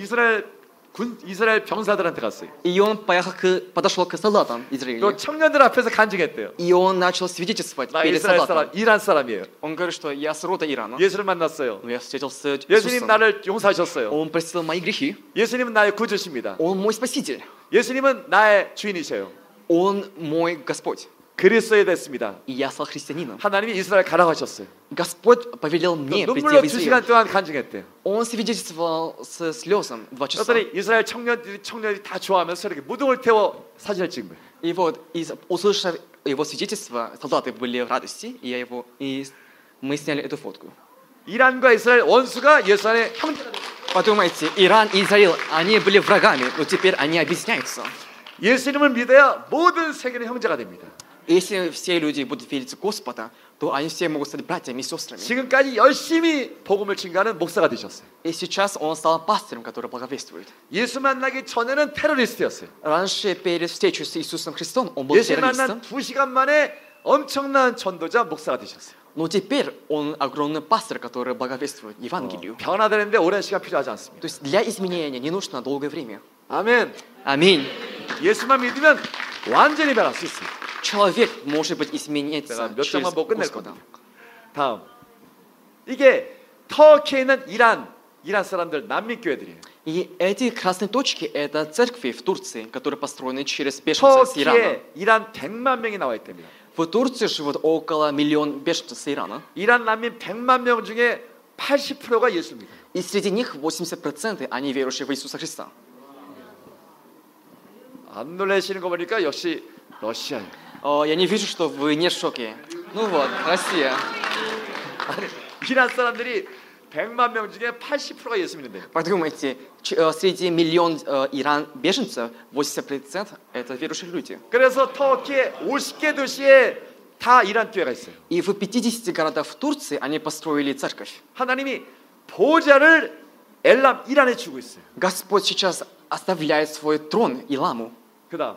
이스라엘 병사들한테 갔어요. И он подошел к солдатам Израиля. 또 청년들 앞에서 간증했대요. И он начал свидетельствовать 나 перед 이스라엘 солдатом. 사람, 이란 사람이에요. Он говорит, что я с рода Ирана, 예수를 만났어요. но я встретился с 예수님 Иисусом. 나를 용서하셨어요. Он простил мои грехи. 예수님은 나의 구주십니다. Он мой спаситель. 예수님은 나의 주인이셔요. Он мой Господь. 그리스도에 됐습니다. И я стал христианином. 하나님이 이스라엘 가라고 하셨어요. Господь повелел мне прийти 눈물로 в 2시간 Израиль. 동안 간증했대요. Он свидетельствовал с слезом 2 часа. 그랬더니 이스라엘 청년들이 다 좋아하면서 이렇게 무덤을 태워 사진을 찍은 거예요. И вот, услышав его свидетельство, солдаты были в радости, и мы сняли эту фотку. 이란과 이스라엘 원수가 예수 안에 형제가 됐어요. Подумайте, Иран и Израиль, они были врагами, но теперь они объединяются. 예수님을 믿어야 모든 세계는 형제가 됩니다. Если все люди будут верить в Господа, то они все могут стать братьями и сестрами. 지금까지 열심히 복음을 증거하는 목사가 되셨어요. И сейчас он стал пастырем, который благовествует. 예수 만나기 전에는 테러리스트였어요. Раньше, перед встречей с Иисусом Христом, он был 예수 만난 террористом, 2시간 만에 엄청난 전도자 목사가 되셨어요. но теперь он огромный пастор, который благовествует Евангелию. 변화되는데 오랜 시간 필요하지 않습니다. То есть для изменения не нужно долгое время. 아멘. Аминь. 예수만 믿으면 완전히 변할 수 있습니다. Человек может быть измениться 내가 몇 через 장만 보고 끝낼 Господа. 겁니다. 다음, 이게 터키에 있는 이란 사람들 난민교회들이에요. И эти красные точки – это церкви в Турции, которые построены через беженцев с Ирана. 터키에 이란 100만 명이 나와 있답니다. В Турции живут около 1 миллиона беженцев с Ирана. 이란 난민 100만 명 중에 80%가 예수입니다. И среди них 80% они верующие в Иисуса Христа. 안 놀라시는 거 보니까 역시 러시아예요. Я не вижу, что вы не в шоке. Ну вот, Россия. 이란 사람들이 100만 명 중에 80%가 예수 믿는데요. Подумайте, среди миллион Иран беженцев 80% это верующие люди. 그래서 터키의 50개 도시에 다 이란 교회가 있어요. И в 50 городах в Турции они построили церковь. 하나님이 보좌를 엘람 이란에 주고 있어요. Господь сейчас оставляет свой трон Иламу. 그다음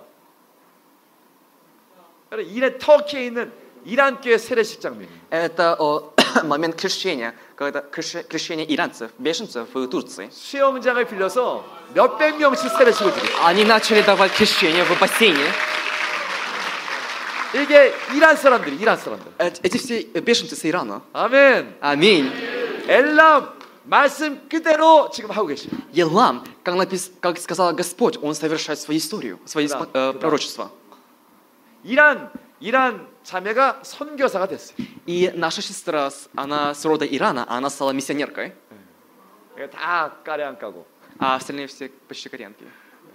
이란 터키에 있는 이란 교회 세례식 장면이에요. Это момент крещения, когда крещение иранцев, беженцев в Турции. 수영장을 빌려서 몇백 명씩 세례식을 드려요. Они начали давать крещение в бассейне. 이게 이란 사람들. Эти все беженцы с Ирана. 아멘. Аминь. 엘람 말씀 그대로 지금 하고 계시죠. Елам, как сказал Господь, он совершает свою историю, свои пророчества. 이란 자매가 선교사가 됐어요. И наша сестра, она с рода Ирана, она стала миссионеркой, 다 까레안 까고. а остальные все почти кореянки.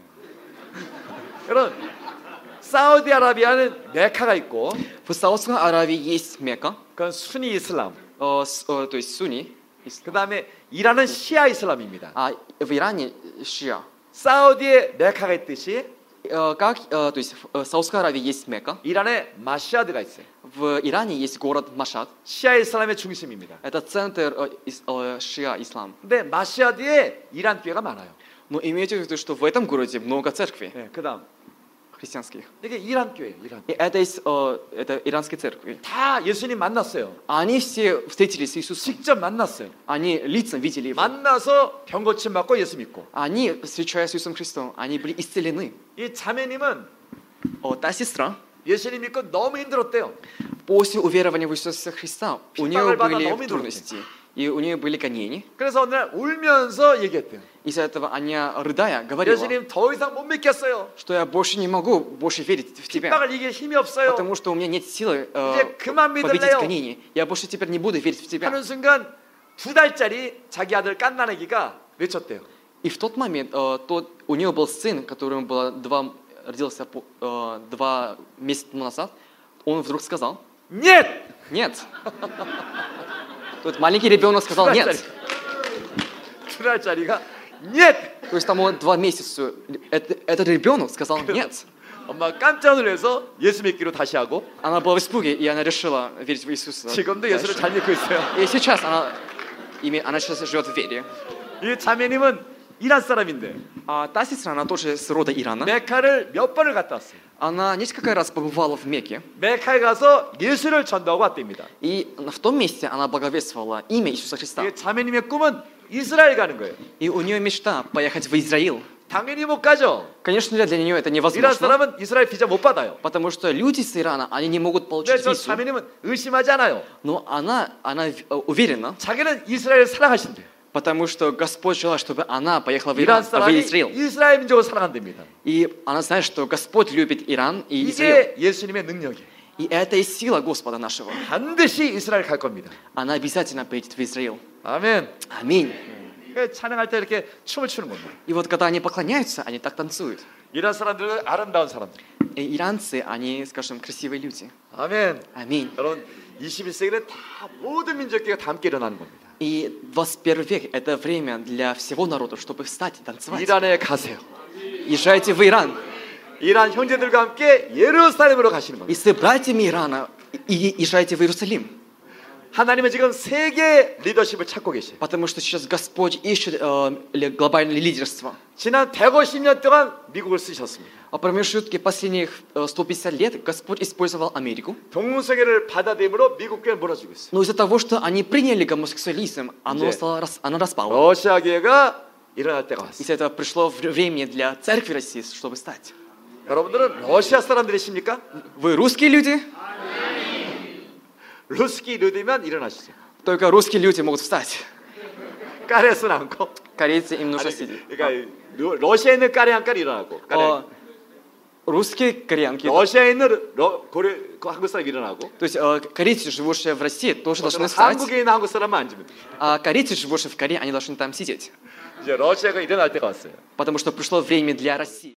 여러분, 사우디아라비아는 메카가 있고, В Саудовской Аравии есть Мекка, 그건 수니 이슬람. то есть Суни, 그 다음에 이란은 시아 이슬람입니다. а в Иране Шиа. 사우디에 메카가 있듯이 То есть в Саудовской Аравии есть Мекка, 이란에 마시아드가 있어요. в Иране есть город Машад. 시아 이슬람의 중심입니다. Это центр Шиа ислам. 근데 마시아드에 이란 교회가 많아요. Но имейте в виду, что в этом городе много церквей 네, 그다음 христианских. 이게 이란 교회예요. 이란. И это иранские церкви. 다 예수님 만났어요. Они все встретились с Иисусом. 직접 만났어요. Они лицом видели его. 만나서 병 고침 받고 예수 믿고. Они, встречаясь с Иисусом Христом, они были исцелены. 이 자매님은 Та сестра, 예수님 믿고 너무 힘들었대요. после уверования в Иисуса Христа, у нее 핍박을 받아 были 너무 трудности. И у нее были гонения. 그래서 어느 날 울면서 얘기했대요. Из-за этого она, рыдая, говорила, 예수님 더 이상 못 믿겠어요. что я больше не могу больше верить в Тебя, 핍박을 이길 힘이 없어요. потому что у меня нет силы 이제 그만 победить 믿을래요. гонения. Я больше теперь не буду верить в Тебя. 하는 순간 2달짜리 자기 아들 깐나내기가 외쳤대요. И в тот момент у нее был сын, которому было родился 2 месяца назад. Он вдруг сказал: Нет! Нет. Тут маленький ребенок сказал нет. 2달짜리가 Нет! То есть тому 2 месяца. Этот ребенок сказал нет. 엄마 깜짝 놀라서 예수 믿기로 다시 하고 Она была в испуге, и она решила верить в Иисуса. 지금도 예수를 잘 믿고 있어요. И сейчас она сейчас живет в вере. 이 자매님은 이란 사람인데 А та сестра, она тоже с рода Ирана. 메카를 몇 번을 갔다 왔어요. Она несколько раз побывала в Мекке. 메카에 가서 예수를 전도하고 왔답니다. И в том месте она благовествовала имя Иисуса Христа. 이 자매님의 꿈은 이스라엘 가는 거예요. И у нее мечта поехать в Израиль. 당연히 못 가죠. Конечно, для нее это 이란 невозможно. 사람은 이스라엘 비자 못 받아요. Потому что люди с Ирана, они не могут 근데 получить 저 визу. 자매님은 의심하지 않아요. Но она уверена, 자기는 이스라엘 사랑하신대요. потому что Господь желает, чтобы она поехала в 이란 Иран, в 사람이 Израиль. 이스라엘 민족을 사랑한답니다. И она знает, что Господь любит Иран и 이게 Израиль. 예수님의 능력이에요. И это и сила Господа нашего. 반드시 이스라엘 갈 겁니다. Она обязательно поедет в Израиль. 아멘. Аминь. 찬양할 때 이렇게 춤을 추는 겁니다. И вот когда они поклоняются, они так танцуют. 이란 사람들은 아름다운 사람들. И иранцы, они, скажем, красивые люди. 아멘. Аминь. 여러분 21세기는 다 모든 민족계가 다 함께 일어나는 겁니다. И 21 век – это время для всего народа, чтобы встать и танцевать. 이란에 가세요. Езжайте в Иран. 이란 형제들과 함께 예루살렘으로 가시는 И 겁니다. с братьями Ирана езжайте в Иерусалим. 하나님은 지금 세계 리더십을 찾고 계세요. Потому что сейчас Господь ищет глобальное лидерство. 지난 150년 동안 미국을 쓰셨습니다. В промежутке последних 150 лет Господь использовал Америку. 동성애를 받아들임으로 미국 교회를 몰아주고 있어요. Но из-за того, что они приняли гомосексуализм, оно распало. 러시아 교회가 일어날 때가 왔어요. Из-за этого пришло время для церкви России, чтобы стать. 여러분들은 러시아 사람들이십니까? Вы русские люди? 루스키 르디면 일어나시죠. Только русские люди могут встать. 까레스는 않고. Корейцы им нужно сидеть. 그러니까 러시아에 있는 까레 한 깔 일어나고. Русские кореянки. 러시아에 있는 한국 사람 일어나고. То есть корейцы, живущие в России, тоже должны встать. 한국에 있는 한국 사람은 앉으면 돼. А корейцы, живущие в Корее, они должны там сидеть. 이제 러시아가 일어날 때가 왔어요. Потому что пришло время для России.